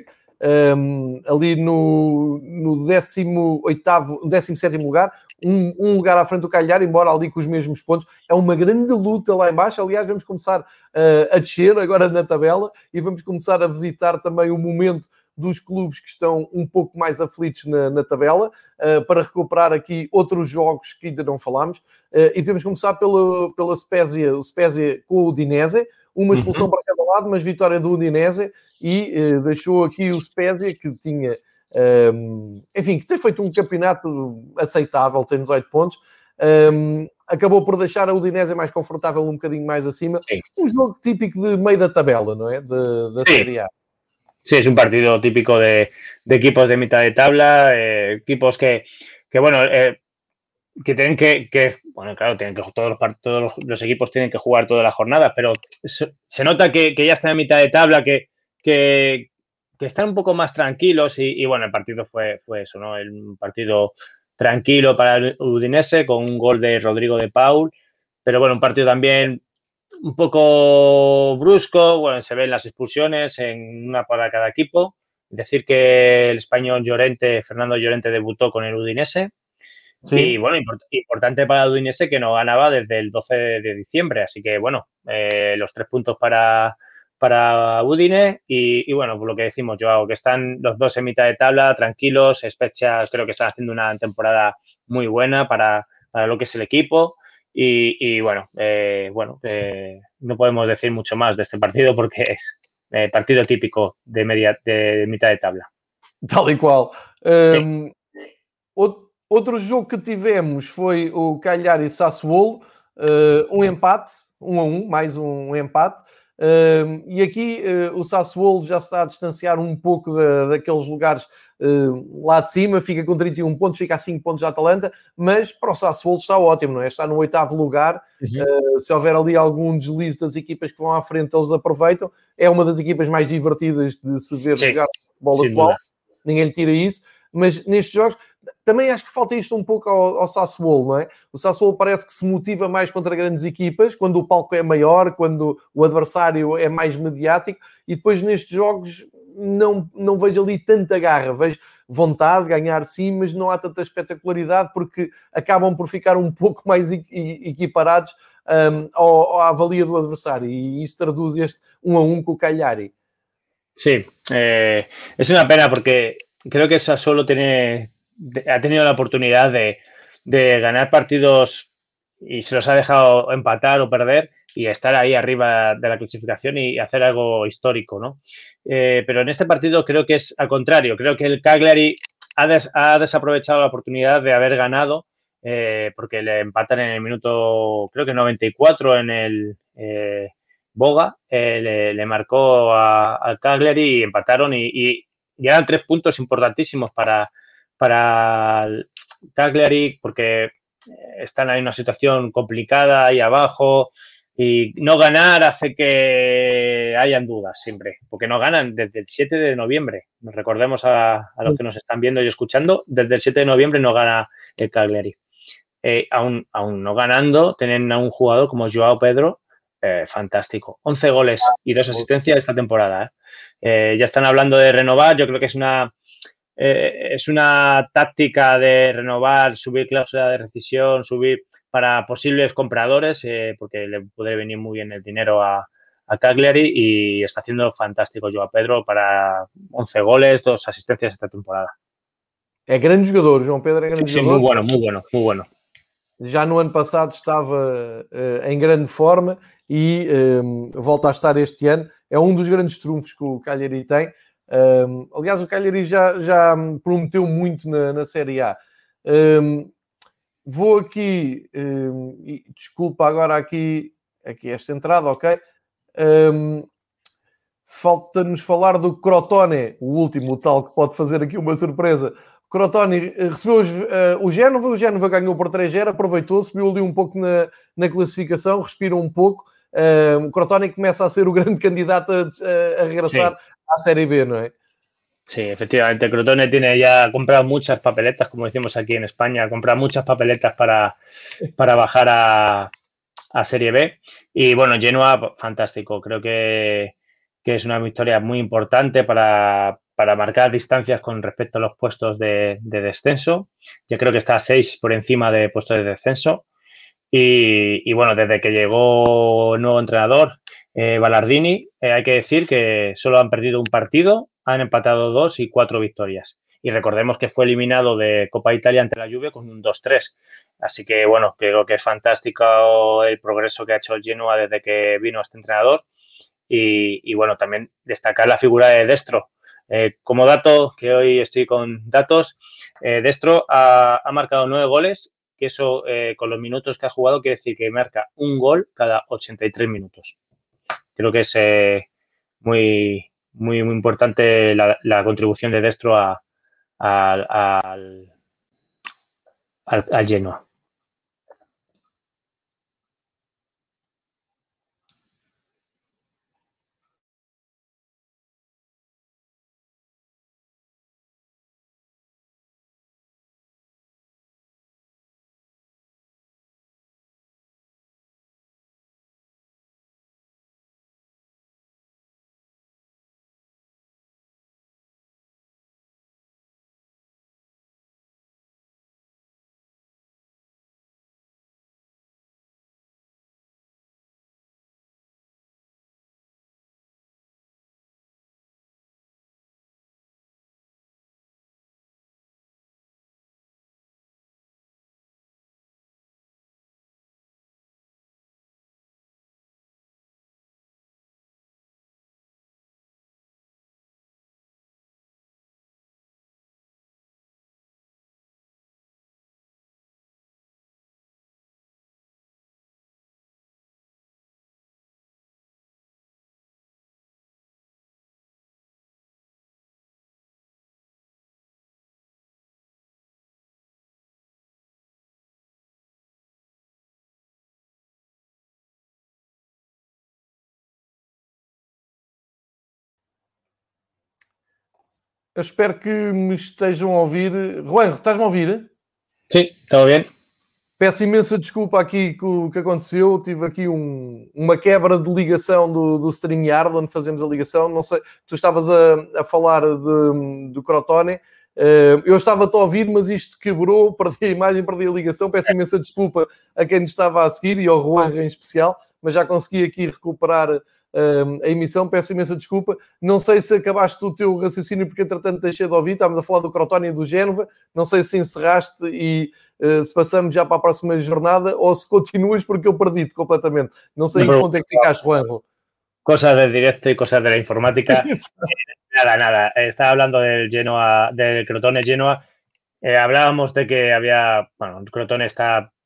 um, ali no, no décimo oitavo, décimo sétimo lugar, um, um lugar à frente do Cagliari, embora ali com os mesmos pontos. É uma grande luta lá em baixo. Aliás, vamos começar uh, a descer agora na tabela e vamos começar a visitar também o momento dos clubes que estão um pouco mais aflitos na, na tabela, uh, para recuperar aqui outros jogos que ainda não falámos. Uh, e devemos começar pela, pela Spezia, o Spezia com o Udinese, uma expulsão uhum. para cada lado, mas vitória do Udinese, e uh, deixou aqui o Spezia, que tinha, um, enfim, que tem feito um campeonato aceitável, tem dezoito pontos, um, acabou por deixar a Udinese mais confortável, um bocadinho mais acima. Sim. Um jogo típico de meio da tabela, não é? Da Série A. Sí, es un partido típico de, de equipos de mitad de tabla, eh, equipos que, que bueno, eh, que tienen que, que, bueno, claro, tienen que todos los, todos los, los equipos tienen que jugar todas las jornadas, pero se, se nota que, que ya están en mitad de tabla, que, que, que están un poco más tranquilos y, y bueno, el partido fue, fue eso, ¿no? Un partido tranquilo para el Udinese con un gol de Rodrigo de Paul, pero bueno, un partido también un poco brusco, bueno, se ven las expulsiones en una para cada equipo. Decir que el español Llorente, Fernando Llorente, debutó con el Udinese. Sí. Y bueno, import importante para el Udinese que no ganaba desde el doce de diciembre. Así que bueno, eh, los tres puntos para, para Udine. Y, y bueno, por lo que decimos, Joao, que están los dos en mitad de tabla, tranquilos. Spezia creo que están haciendo una temporada muy buena para, para lo que es el equipo. Y, y bueno, eh, bueno eh, no podemos decir mucho más de este partido porque es eh, partido típico de, media, de mitad de tabla. Tal e qual. Um, outro, outro jogo que tivemos foi o Cagliari Sassuolo, uh, um empate, um a um, mais um, um empate. Uh, e aqui uh, o Sassuolo já está a distanciar um pouco da, daqueles lugares uh, lá de cima, fica com trinta e um pontos, fica a cinco pontos da Atalanta, mas para o Sassuolo está ótimo, não é? Está no oitavo lugar. Uhum. Uh, se houver ali algum deslize das equipas que vão à frente, eles aproveitam. É uma das equipas mais divertidas de se ver Sim. jogar futebol atual, ninguém lhe tira isso, mas nestes jogos também acho que falta isto um pouco ao, ao Sassuolo, não é? O Sassuolo parece que se motiva mais contra grandes equipas, quando o palco é maior, quando o adversário é mais mediático, e depois nestes jogos não, não vejo ali tanta garra, vejo vontade de ganhar sim, mas não há tanta espetacularidade, porque acabam por ficar um pouco mais equiparados um, ao, à avalia do adversário, e isso traduz este um a um com o Cagliari. Sí, eh, es una pena porque creo que Sassuolo tiene... ha tenido la oportunidad de, de ganar partidos y se los ha dejado empatar o perder y estar ahí arriba de la clasificación y hacer algo histórico, ¿no? Eh, pero en este partido creo que es al contrario. Creo que el Cagliari ha, des, ha desaprovechado la oportunidad de haber ganado eh, porque le empatan en el minuto, creo que noventa y cuatro en el, eh, Boga, eh, le, le marcó al Cagliari y empataron y, y, y eran tres puntos importantísimos para, para el Cagliari porque están en una situación complicada ahí abajo y no ganar hace que hayan dudas siempre, porque no ganan desde el siete de noviembre. Nos recordemos a, a los que nos están viendo y escuchando, desde el siete de noviembre no gana el Cagliari. Eh, aún, aún no ganando, tienen a un jugador como Joao Pedro, eh, fantástico. once goles y dos asistencias esta temporada. ¿eh? Eh, ya están hablando de renovar, yo creo que es una eh, es una táctica de renovar, subir cláusula de rescisión, subir para posibles compradores, eh, porque le puede venir muy bien el dinero a, a Cagliari y está haciendo fantástico Joao Pedro para once goles, dos asistencias esta temporada. É grande jogador, João Pedro é grande sí, sí, jogador. Muy bueno, muy bueno, muy bueno. Já no ano passado estava uh, em grande forma e um, volta a estar este ano. É um dos grandes trunfos que o Cagliari tem. Um, aliás, o Cagliari já, já prometeu muito na, na Série A. Um, vou aqui, um, e desculpa agora aqui, aqui esta entrada, ok? Um, falta-nos falar do Crotone, o último, o tal que pode fazer aqui uma surpresa. O Crotone recebeu os, uh, o Génova, o Génova ganhou por três a zero, aproveitou, subiu ali um pouco na, na classificação, respira um pouco. Uh, o Crotone começa a ser o grande candidato a, a, a regressar sí. à Série B, ¿no es? Sí, efectivamente, el Crotone tiene ya comprado muchas papeletas, como decimos aquí en España, ha comprado muchas papeletas para, para bajar a, a Serie B. Y bueno, Genoa, fantástico, creo que, que es una victoria muy importante para, para marcar distancias con respecto a los puestos de, de descenso. Yo creo que está a seis por encima de puestos de descenso. Y, y bueno, desde que llegó el nuevo entrenador, eh, Ballardini, eh, hay que decir que solo han perdido un partido, han empatado dos y cuatro victorias. Y recordemos que fue eliminado de Copa Italia ante la Juve con un dos tres. Así que, bueno, creo que es fantástico el progreso que ha hecho el Genoa desde que vino este entrenador. Y, y bueno, también destacar la figura de Destro. Eh, como dato, que hoy estoy con datos, eh, Destro ha, ha marcado nueve goles, que eso eh, con los minutos que ha jugado quiere decir que marca un gol cada ochenta y tres minutos. Creo que es eh, muy, muy, muy importante la, la contribución de Destro a, a, a, al, al, al Genoa. Eu espero que me estejam a ouvir. Juan, estás-me a ouvir? Sim, está bem. Peço imensa desculpa aqui com o que aconteceu. Tive aqui um, uma quebra de ligação do, do StreamYard, onde fazemos a ligação. Não sei, tu estavas a, a falar de, do Crotone. Uh, eu estava-te a ouvir, mas isto quebrou, perdi a imagem, perdi a ligação. Peço imensa desculpa a quem nos estava a seguir e ao Juan em especial, mas já consegui aqui recuperar Uh, a emissão, peço imensa desculpa. Não sei se acabaste o teu raciocínio, porque entretanto deixei de ouvir. Estávamos a falar do Crotone e do Génova. Não sei se encerraste e uh, se passamos já para a próxima jornada ou se continuas, porque eu perdi-te completamente. Não sei em que ponto é que ficaste, Juanjo. Cosas del directo y cosas de la informática. nada, nada. Estaba hablando del Genoa, del Crotone Genoa. Eh, hablábamos de que había, bueno, el Crotone está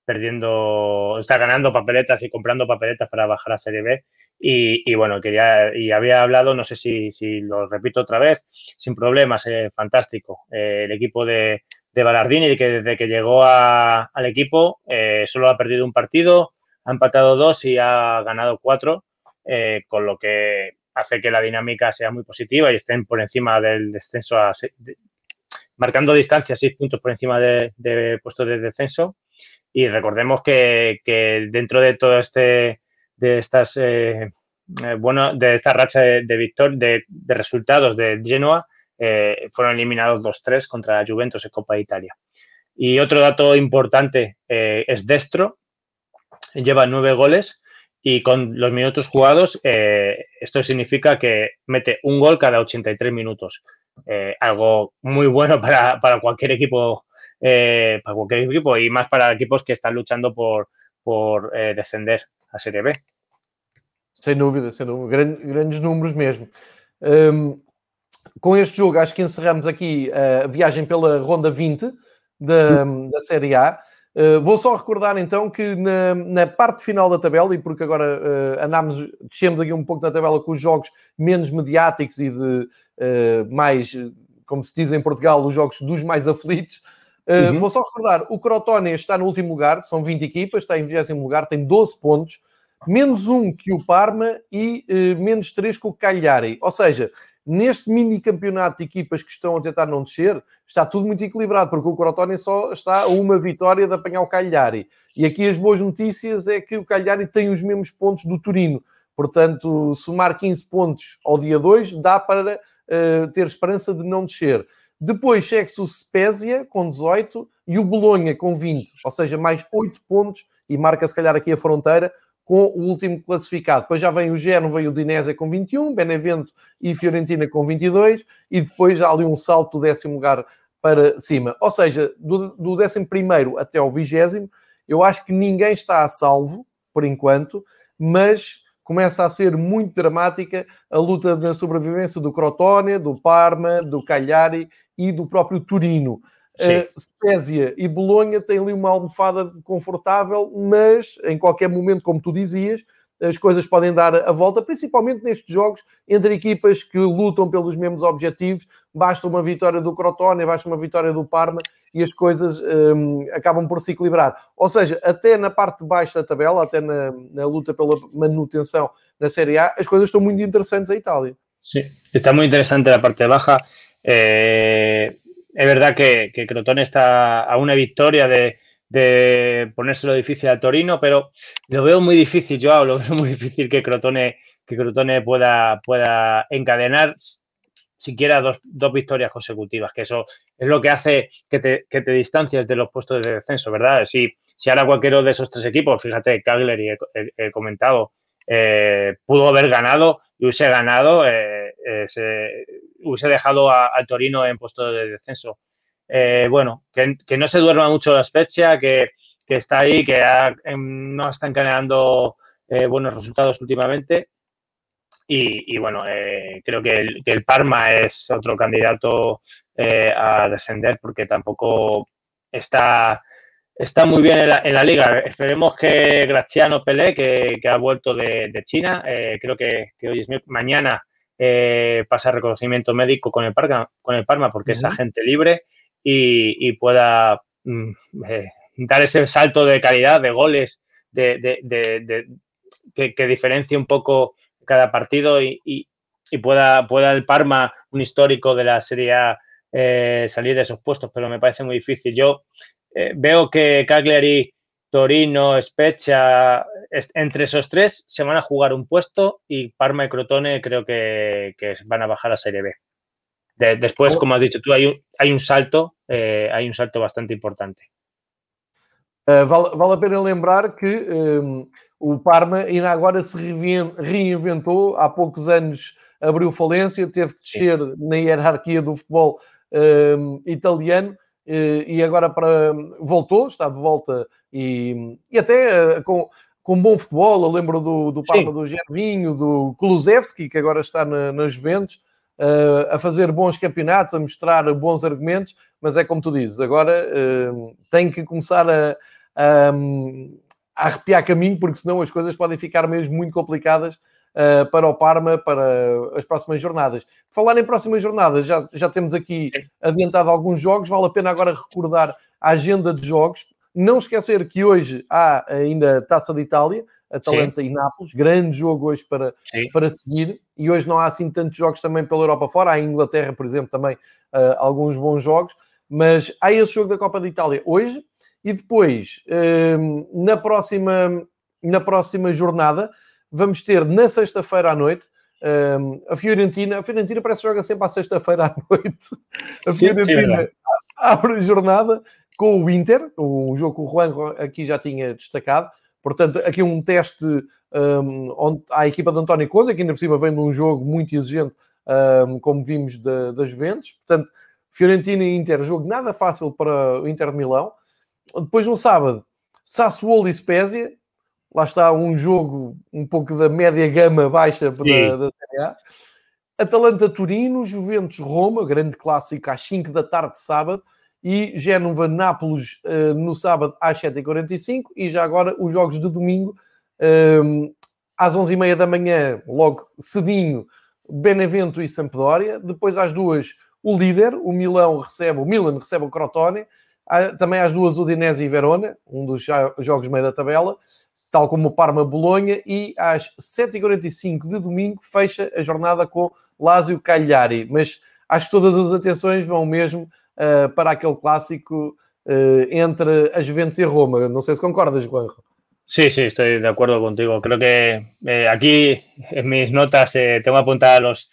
perdiendo, está ganando papeletas y comprando papeletas para bajar a Serie B. Y, y bueno, quería, y había hablado, no sé si, si lo repito otra vez, sin problemas, eh, fantástico. Eh, el equipo de, de Ballardini, que desde que llegó a, al equipo, eh, solo ha perdido un partido, ha empatado dos y ha ganado cuatro, eh, con lo que hace que la dinámica sea muy positiva y estén por encima del descenso, a, de, marcando distancia, seis puntos por encima de, de puestos de descenso. Y recordemos que, que dentro de todo este, de estas, eh, eh, bueno, de esta racha de, de victor, de, de resultados de Genoa, eh, fueron eliminados dos tres contra Juventus en Copa de Italia. Y otro dato importante eh, es Destro, lleva nueve goles y con los minutos jugados, eh, esto significa que mete un gol cada ochenta y tres minutos. Eh, algo muy bueno para, para cualquier equipo, eh, para cualquier equipo y más para equipos que están luchando por, por eh, descender a Serie B. Sem dúvida, sem dúvida. Grandes, grandes números mesmo. Um, com este jogo, acho que encerramos aqui a viagem pela Ronda vinte da, da Série A. Uh, vou só recordar então que na, na parte final da tabela, e porque agora uh, andámos, descemos aqui um pouco na tabela com os jogos menos mediáticos e de uh, mais, como se diz em Portugal, os jogos dos mais aflitos, uh, uhum. Vou só recordar, o Crotone está no último lugar, são vinte equipas, está em vigésimo lugar, tem doze pontos, menos um que o Parma e uh, menos três que o Cagliari. Ou seja, neste mini campeonato de equipas que estão a tentar não descer, está tudo muito equilibrado, porque o Crotone só está a uma vitória de apanhar o Cagliari. E aqui as boas notícias é que o Cagliari tem os mesmos pontos do Torino. Portanto, somar quinze pontos ao dia dois dá para uh, ter esperança de não descer. Depois segue-se o Spezia com dezoito e o Bolonha com vinte. Ou seja, mais oito pontos e marca se calhar aqui a fronteira com o último classificado. Depois já vem o Génova e o Udinese com vinte e um, Benevento e Fiorentina com vinte e dois, e depois há ali um salto do décimo lugar para cima. Ou seja, do, do décimo primeiro até ao vigésimo, eu acho que ninguém está a salvo, por enquanto, mas começa a ser muito dramática a luta da sobrevivência do Crotone, do Parma, do Cagliari e do próprio Torino. Uh, Spezia e Bolonha têm ali uma almofada confortável, mas em qualquer momento, como tu dizias, as coisas podem dar a volta, principalmente nestes jogos entre equipas que lutam pelos mesmos objetivos. Basta uma vitória do Crotone, basta uma vitória do Parma e as coisas um, acabam por se equilibrar. Ou seja, até na parte de baixo da tabela, até na, na luta pela manutenção na Série A, as coisas estão muito interessantes em Itália. Sí, está muy interesante la parte baja. Eh... Es verdad que, que Crotone está a una victoria de, de ponérselo difícil al Torino, pero lo veo muy difícil, Joao, lo veo muy difícil que Crotone, que Crotone pueda, pueda encadenar siquiera dos, dos victorias consecutivas, que eso es lo que hace que te, que te distancies de los puestos de descenso, ¿verdad? Si, si ahora cualquiera de esos tres equipos, fíjate, Cagliari, he, he, he comentado, eh, pudo haber ganado y hubiese ganado, eh, eh, se, hubiese dejado al Torino en puesto de descenso. Eh, bueno, que, que no se duerma mucho la Spezia, que, que está ahí, que ha, no está encadenando eh, buenos resultados últimamente. Y, y bueno, eh, creo que el, que el Parma es otro candidato eh, a descender porque tampoco está... Está muy bien en la, en la liga. Esperemos que Graziano Pelé, que, que ha vuelto de, de China, eh, creo que, que hoy es mañana eh, pasa reconocimiento médico con el Parma, con el Parma porque uh-huh. es agente libre y, y pueda mm, eh, dar ese salto de calidad, de goles, de, de, de, de que, que diferencie un poco cada partido y, y, y pueda, pueda el Parma, un histórico de la Serie A, eh, salir de esos puestos, pero me parece muy difícil. Yo Eh, veo que Cagliari, Torino, Spezia, entre esos tres se van a jugar un puesto y Parma y Crotone creo que, que van a bajar a Serie B. De, después, como has dicho tú, hay un, hay un salto, eh, hay un salto bastante importante. Uh, vale, vale a pena lembrar que um, o Parma ainda agora se reinventou, há poucos anos abriu falência, teve que descer Sim. na hierarquia do futebol um, italiano. E agora para, voltou, está de volta e, e até uh, com, com bom futebol. Eu lembro do, do Parma, do Gervinho, do Kulusevski, que agora está na, na Juventus, uh, a fazer bons campeonatos, a mostrar bons argumentos, mas é como tu dizes, agora uh, tem que começar a, um, a arrepiar caminho, porque senão as coisas podem ficar mesmo muito complicadas uh, para o Parma, para as próximas jornadas. Falar em próximas jornadas, já, já temos aqui adiantado alguns jogos, vale a pena agora recordar a agenda de jogos. Não esquecer que hoje há ainda Taça de Itália, Atalanta Sim. e Nápoles, grande jogo hoje para, para seguir, e hoje não há assim tantos jogos também pela Europa fora, há em Inglaterra, por exemplo, também uh, alguns bons jogos, mas há esse jogo da Copa de Itália hoje, e depois, uh, na, próxima, na próxima jornada, vamos ter na sexta-feira à noite, uh, a Fiorentina, a Fiorentina parece que joga sempre à sexta-feira à noite, a Fiorentina sim, sim, abre a jornada com o Inter, um jogo que o Juan aqui já tinha destacado. Portanto, aqui um teste um, onde a equipa de António Conte, que ainda por cima vem de um jogo muito exigente, um, como vimos da, das Juventus. Portanto, Fiorentina e Inter, jogo nada fácil para o Inter de Milão. Depois, no sábado, Sassuolo e Spezia. Lá está um jogo um pouco da média gama baixa da, da Série A. Atalanta-Turino, Juventus-Roma, grande clássico às cinco da tarde de sábado. E Génova-Nápoles uh, no sábado às sete e quarenta e cinco, e já agora os jogos de domingo um, às onze e meia da manhã, logo cedinho, Benevento e Sampdoria. Depois às duas o líder, o Milão recebe, o Milan recebe o Crotone. Há, também às duas Udinese e Verona, um dos jogos meio da tabela, tal como o Parma-Bolonha. E às sete e quarenta e cinco de domingo fecha a jornada com Lazio-Cagliari. Mas acho que todas as atenções vão mesmo Uh, para aquele clásico uh, entre a Juventus y Roma. No sé si concordas, Juanjo. Sí, sí, estoy de acuerdo contigo. Creo que eh, aquí en mis notas eh, tengo apuntadas los...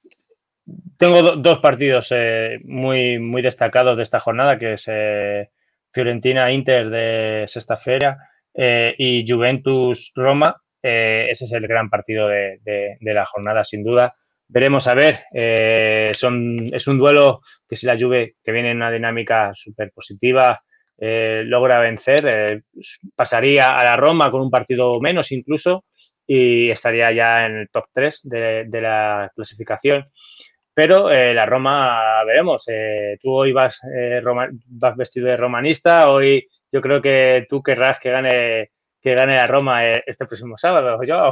Tengo do, dos partidos eh, muy, muy destacados de esta jornada, que es eh, Fiorentina-Inter de Sexta-feira eh, y Juventus-Roma. Eh, ese es el gran partido de, de, de la jornada, sin duda. Veremos a ver, eh, son, es un duelo que si la Juve, que viene en una dinámica súper positiva, eh, logra vencer, eh, pasaría a la Roma con un partido menos incluso y estaría ya en el top tres de, de la clasificación. Pero eh, la Roma, veremos, eh, tú hoy vas, eh, Roma, vas vestido de romanista, hoy yo creo que tú querrás que gane, que gane la Roma eh, este próximo sábado, yo.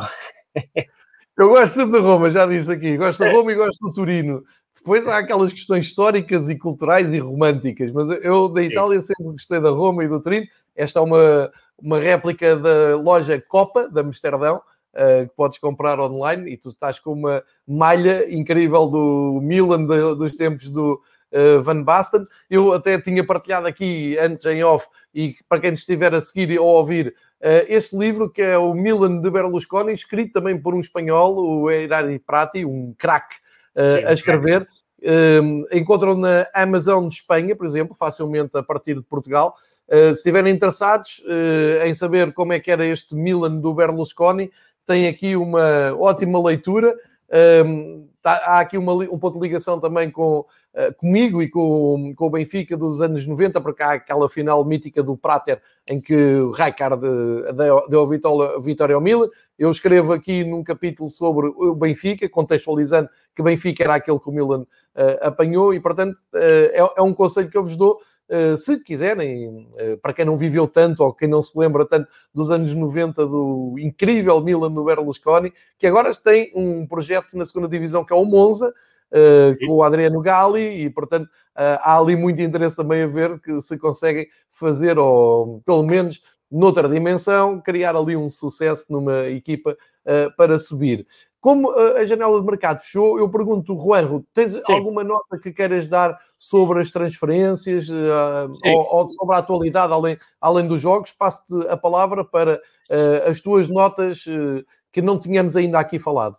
Eu gosto sempre da Roma, já disse aqui. Gosto da Roma e gosto do Turino. Depois há aquelas questões históricas e culturais e românticas. Mas eu, da Itália, sempre gostei da Roma e do Turino. Esta é uma, uma réplica da loja Copa, de Amsterdão, uh, que podes comprar online. E tu estás com uma malha incrível do Milan, de, dos tempos do uh, Van Basten. Eu até tinha partilhado aqui, antes em off, e para quem estiver a seguir ou a ouvir, Uh, este livro, que é o Milan de Berlusconi, escrito também por um espanhol, o Erari Prati, um craque uh, a escrever. Uh, encontram na Amazon de Espanha, por exemplo, facilmente a partir de Portugal. Uh, se estiverem interessados uh, em saber como é que era este Milan do Berlusconi, tem aqui uma ótima leitura. Um, tá, há aqui uma, um ponto de ligação também com, uh, comigo e com, com o Benfica dos anos noventa, porque há aquela final mítica do Prater em que o Rijkaard deu, deu a vitória ao Milan. Eu escrevo aqui num capítulo sobre o Benfica, contextualizando que o Benfica era aquele que o Milan uh, apanhou, e portanto uh, é, é um conselho que eu vos dou. Uh, se quiserem, uh, para quem não viveu tanto ou quem não se lembra tanto dos anos noventa, do incrível Milan do Berlusconi, que agora tem um projeto na segunda divisão que é o Monza, uh, com o Adriano Galli, e portanto uh, há ali muito interesse também a ver que se conseguem fazer, ou pelo menos noutra dimensão, criar ali um sucesso numa equipa uh, para subir. Como a janela de mercado fechou, eu pergunto, Juanjo, tens Sim. alguma nota que queiras dar sobre as transferências uh, ou, ou sobre a atualidade, além, além dos jogos? Passo-te a palavra para uh, as tuas notas uh, que não tínhamos ainda aqui falado.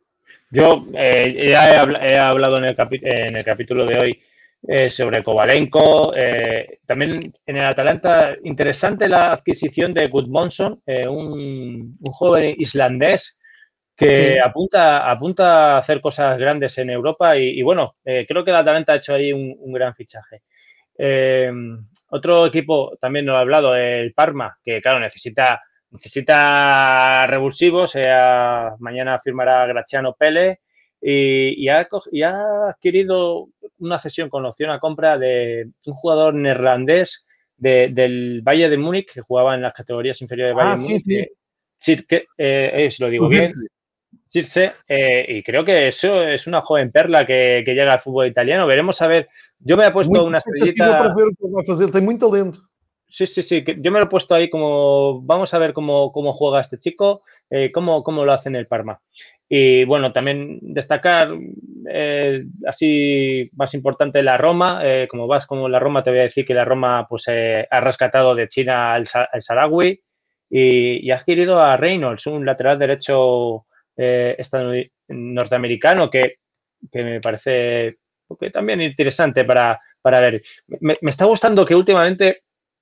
Yo eh, ya he, he hablado en el, capi en el capítulo de hoy eh, sobre Kovalenko, eh, también en el Atalanta, interesante la adquisición de Gudmundsson, eh, un, un joven islandés que sí. apunta, apunta a hacer cosas grandes en Europa y, y bueno, eh, creo que el Atalanta ha hecho ahí un, un gran fichaje. Eh, otro equipo, también nos ha hablado, el Parma, que claro, necesita, necesita revulsivos, eh, mañana firmará Graziano Pelle y, y, ha, y ha adquirido una cesión con opción a compra de un jugador neerlandés de, del Bayern de Múnich, que jugaba en las categorías inferiores del Bayern Ah, de sim, Múnich, sim. que, que eh, eh, si lo digo bien, Circe, eh, y creo que eso es una joven perla que, que llega al fútbol italiano. Veremos a ver. Yo me he puesto Muita una expectativa para estrellita. ver o que ele vai fazer. Ele tem muito talento. Sí, sí, sí. que Yo me lo he puesto ahí como. Vamos a ver cómo, cómo juega este chico, eh, cómo, cómo lo hace en el Parma. Y bueno, también destacar, eh, así más importante, la Roma. Eh, como vas como la Roma, te voy a decir que la Roma pues eh, ha rescatado de China al, Sa- al Sarawi y, y ha adquirido a Reynolds, un lateral derecho eh, estadounid- norteamericano que, que me parece que también interesante para, para ver. Me, me está gustando que últimamente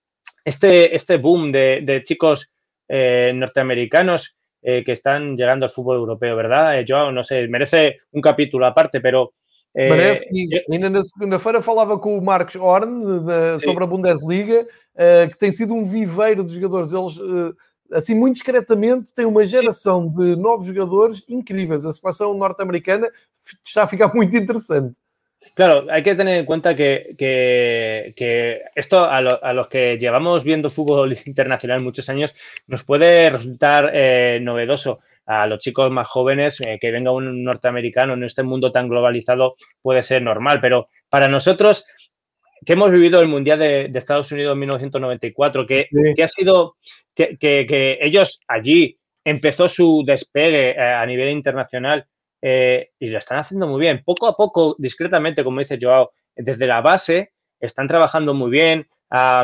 este, este boom de, de chicos eh, norteamericanos eh, que están llegando al fútbol europeo, ¿verdad? Eh, Joao, no sé, merece un capítulo aparte, pero Merece, eh, sim. eh, Ainda na segunda-feira falava com o Marcos Horn de- sí, sobre a Bundesliga, eh, que tem sido um viveiro de jogadores. Eles, eh, assim, muito discretamente, têm uma sí, geração de novos jogadores incríveis. A seleção norte-americana f- está a ficar muito interessante. claro, hay que tener en cuenta que, que, que esto a, lo- a los que llevamos viendo fútbol internacional muchos años nos puede resultar eh, novedoso. A los chicos más jóvenes, eh, que venga un norteamericano en este mundo tan globalizado puede ser normal, pero para nosotros que hemos vivido el Mundial de, de Estados Unidos en mil novecientos noventa y cuatro, que, Sim. que ha sido, que, que, que ellos allí empezó su despegue eh, a nivel internacional eh, y lo están haciendo muy bien. Poco a poco, discretamente, como dice Joao, desde la base están trabajando muy bien, ah,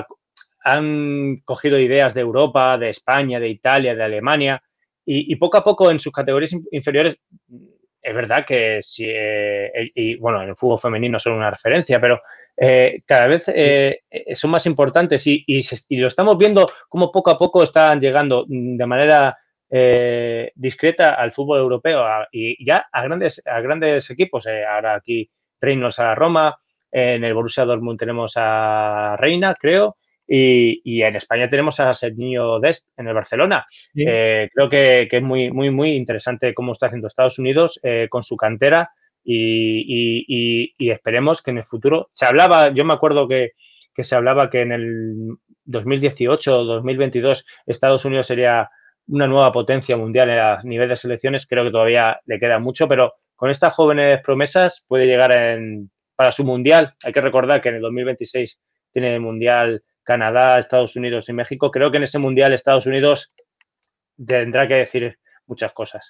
han cogido ideas de Europa, de España, de Italia, de Alemania y, y poco a poco en sus categorías inferiores es verdad que si, eh, y bueno, en el fútbol femenino son una referencia, pero eh, cada vez eh, son más importantes y, y, se, y, lo estamos viendo como poco a poco están llegando de manera eh, discreta al fútbol europeo a, y ya a grandes, a grandes equipos. Eh, ahora aquí Reynolds a Roma, en el Borussia Dortmund tenemos a Reina, creo, y, y en España tenemos a Serginho Dest en el Barcelona. Eh, creo que, que, es muy, muy, muy interesante cómo está haciendo Estados Unidos eh, con su cantera y, y, y, y, esperemos que en el futuro se hablaba, yo me acuerdo que, que se hablaba que en el dos mil dieciocho o dos mil veintidós Estados Unidos sería una nueva potencia mundial a nivel de selecciones, creo que todavía le queda mucho, pero con estas jóvenes promesas puede llegar en, para su mundial. Hay que recordar que en el dos mil veintiséis tiene el mundial Canadá, Estados Unidos y México. Creo que en ese mundial Estados Unidos tendrá que decir muchas cosas.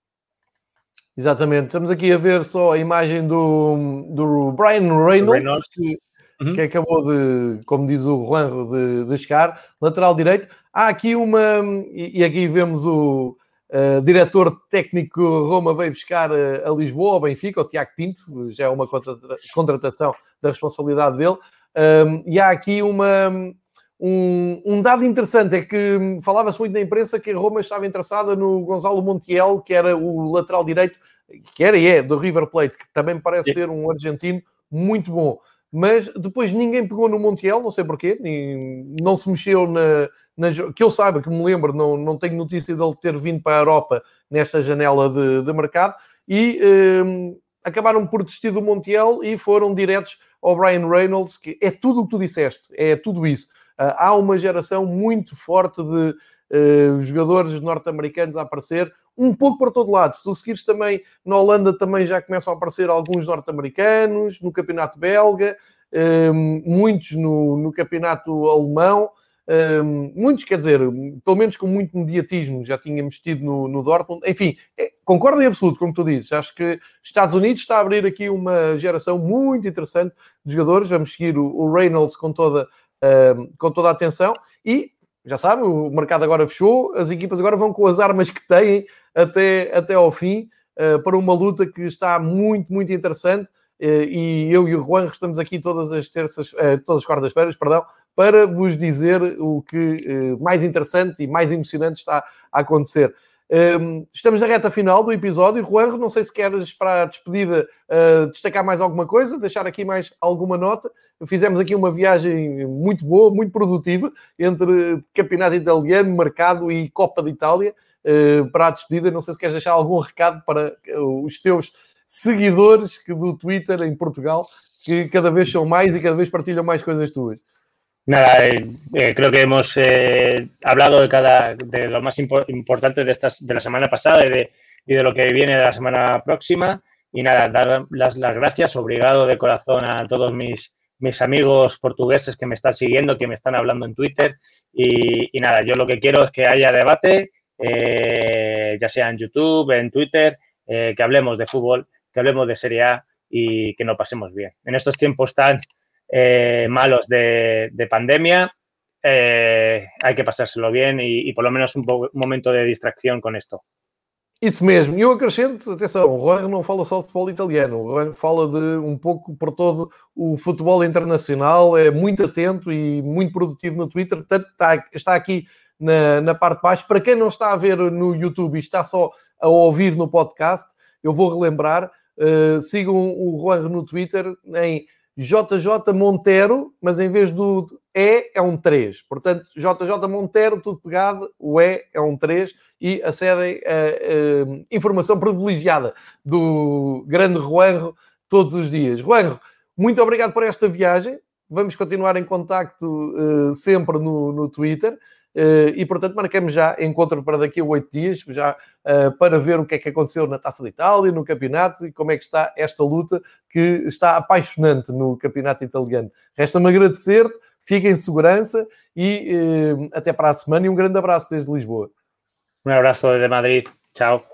Exatamente. Estamos aqui a ver só a imagem do, do Brian Reynolds, Reynolds. que, Uhum. que acabou de, como diz o Juanjo, de, de chegar, lateral direito. Há aqui uma, e, e aqui vemos o uh, diretor técnico Roma veio buscar a, a Lisboa, ao Benfica, o Tiago Pinto, já é uma contratação da responsabilidade dele. Um, e há aqui uma... Um, um dado interessante é que falava-se muito na imprensa que a Roma estava interessada no Gonzalo Montiel, que era o lateral direito, que era e é, do River Plate, que também parece ser um argentino muito bom. Mas depois ninguém pegou no Montiel, não sei porquê, não se mexeu na... na que eu saiba, que me lembro, não, não tenho notícia dele ter vindo para a Europa nesta janela de, de mercado, e um, acabaram por desistir do Montiel e foram diretos ao Brian Reynolds, que é tudo o que tu disseste, é tudo isso. Uh, há uma geração muito forte de uh, jogadores norte-americanos a aparecer, um pouco para todo lado. Se tu seguires também, na Holanda também já começam a aparecer alguns norte-americanos, no campeonato belga, um, muitos no, no campeonato alemão, um, muitos, quer dizer, pelo menos com muito mediatismo, já tínhamos tido no, no Dortmund. Enfim, é, concordo em absoluto com o que tu dizes. Acho que Estados Unidos está a abrir aqui uma geração muito interessante de jogadores. Vamos seguir o, o Reynolds com toda... Uh, com toda a atenção e, já sabem, o mercado agora fechou, as equipas agora vão com as armas que têm até, até ao fim, uh, para uma luta que está muito, muito interessante, uh, e eu e o Juan estamos aqui todas as terças, uh, todas as quartas-feiras, perdão, para vos dizer o que uh, mais interessante e mais emocionante está a acontecer. Um, estamos na reta final do episódio. Juan, não sei se queres para a despedida uh, destacar mais alguma coisa, deixar aqui mais alguma nota. Fizemos aqui uma viagem muito boa, muito produtiva, entre campeonato italiano, mercado e Copa de Itália, uh, para a despedida. Não sei se queres deixar algum recado para os teus seguidores que do Twitter em Portugal, que cada vez são mais e cada vez partilham mais coisas tuas. Nada, eh, eh, creo que hemos eh, hablado de cada de lo más impo importante de estas de la semana pasada y de, y de lo que viene de la semana próxima. Y nada, dar las, las gracias, obrigado de corazón a todos mis, mis amigos portugueses que me están siguiendo, que me están hablando en Twitter. Y, y nada, yo lo que quiero es que haya debate, eh, ya sea en YouTube, en Twitter, eh, que hablemos de fútbol, que hablemos de Serie A y que nos pasemos bien. En estos tiempos tan eh, malos de, de pandemia, eh, hay que pasárselo bien e, e por lo menos un, un momento de distracción con esto. Isso mesmo. E eu acrescento, atenção, o Juan não fala só de futebol italiano, o Juan fala de um pouco por todo o futebol internacional, é muito atento e muito produtivo no Twitter, portanto está, está aqui na, na parte de baixo. Para quem não está a ver no YouTube e está só a ouvir no podcast, eu vou relembrar, uh, sigam o Juan no Twitter em J J Monteiro, mas em vez do E é um três. Portanto, J J Monteiro, tudo pegado, o E é um três e acedem a, a informação privilegiada do grande Juanjo todos os dias. Juanjo, muito obrigado por esta viagem. Vamos continuar em contacto uh, sempre no, no Twitter. Uh, e, portanto, marcamos já encontro para daqui a oito dias, já uh, para ver o que é que aconteceu na Taça de Itália, no campeonato, e como é que está esta luta que está apaixonante no campeonato italiano. Resta-me agradecer-te, fica em segurança e uh, até para a semana e um grande abraço desde Lisboa. Um abraço desde Madrid. Tchau.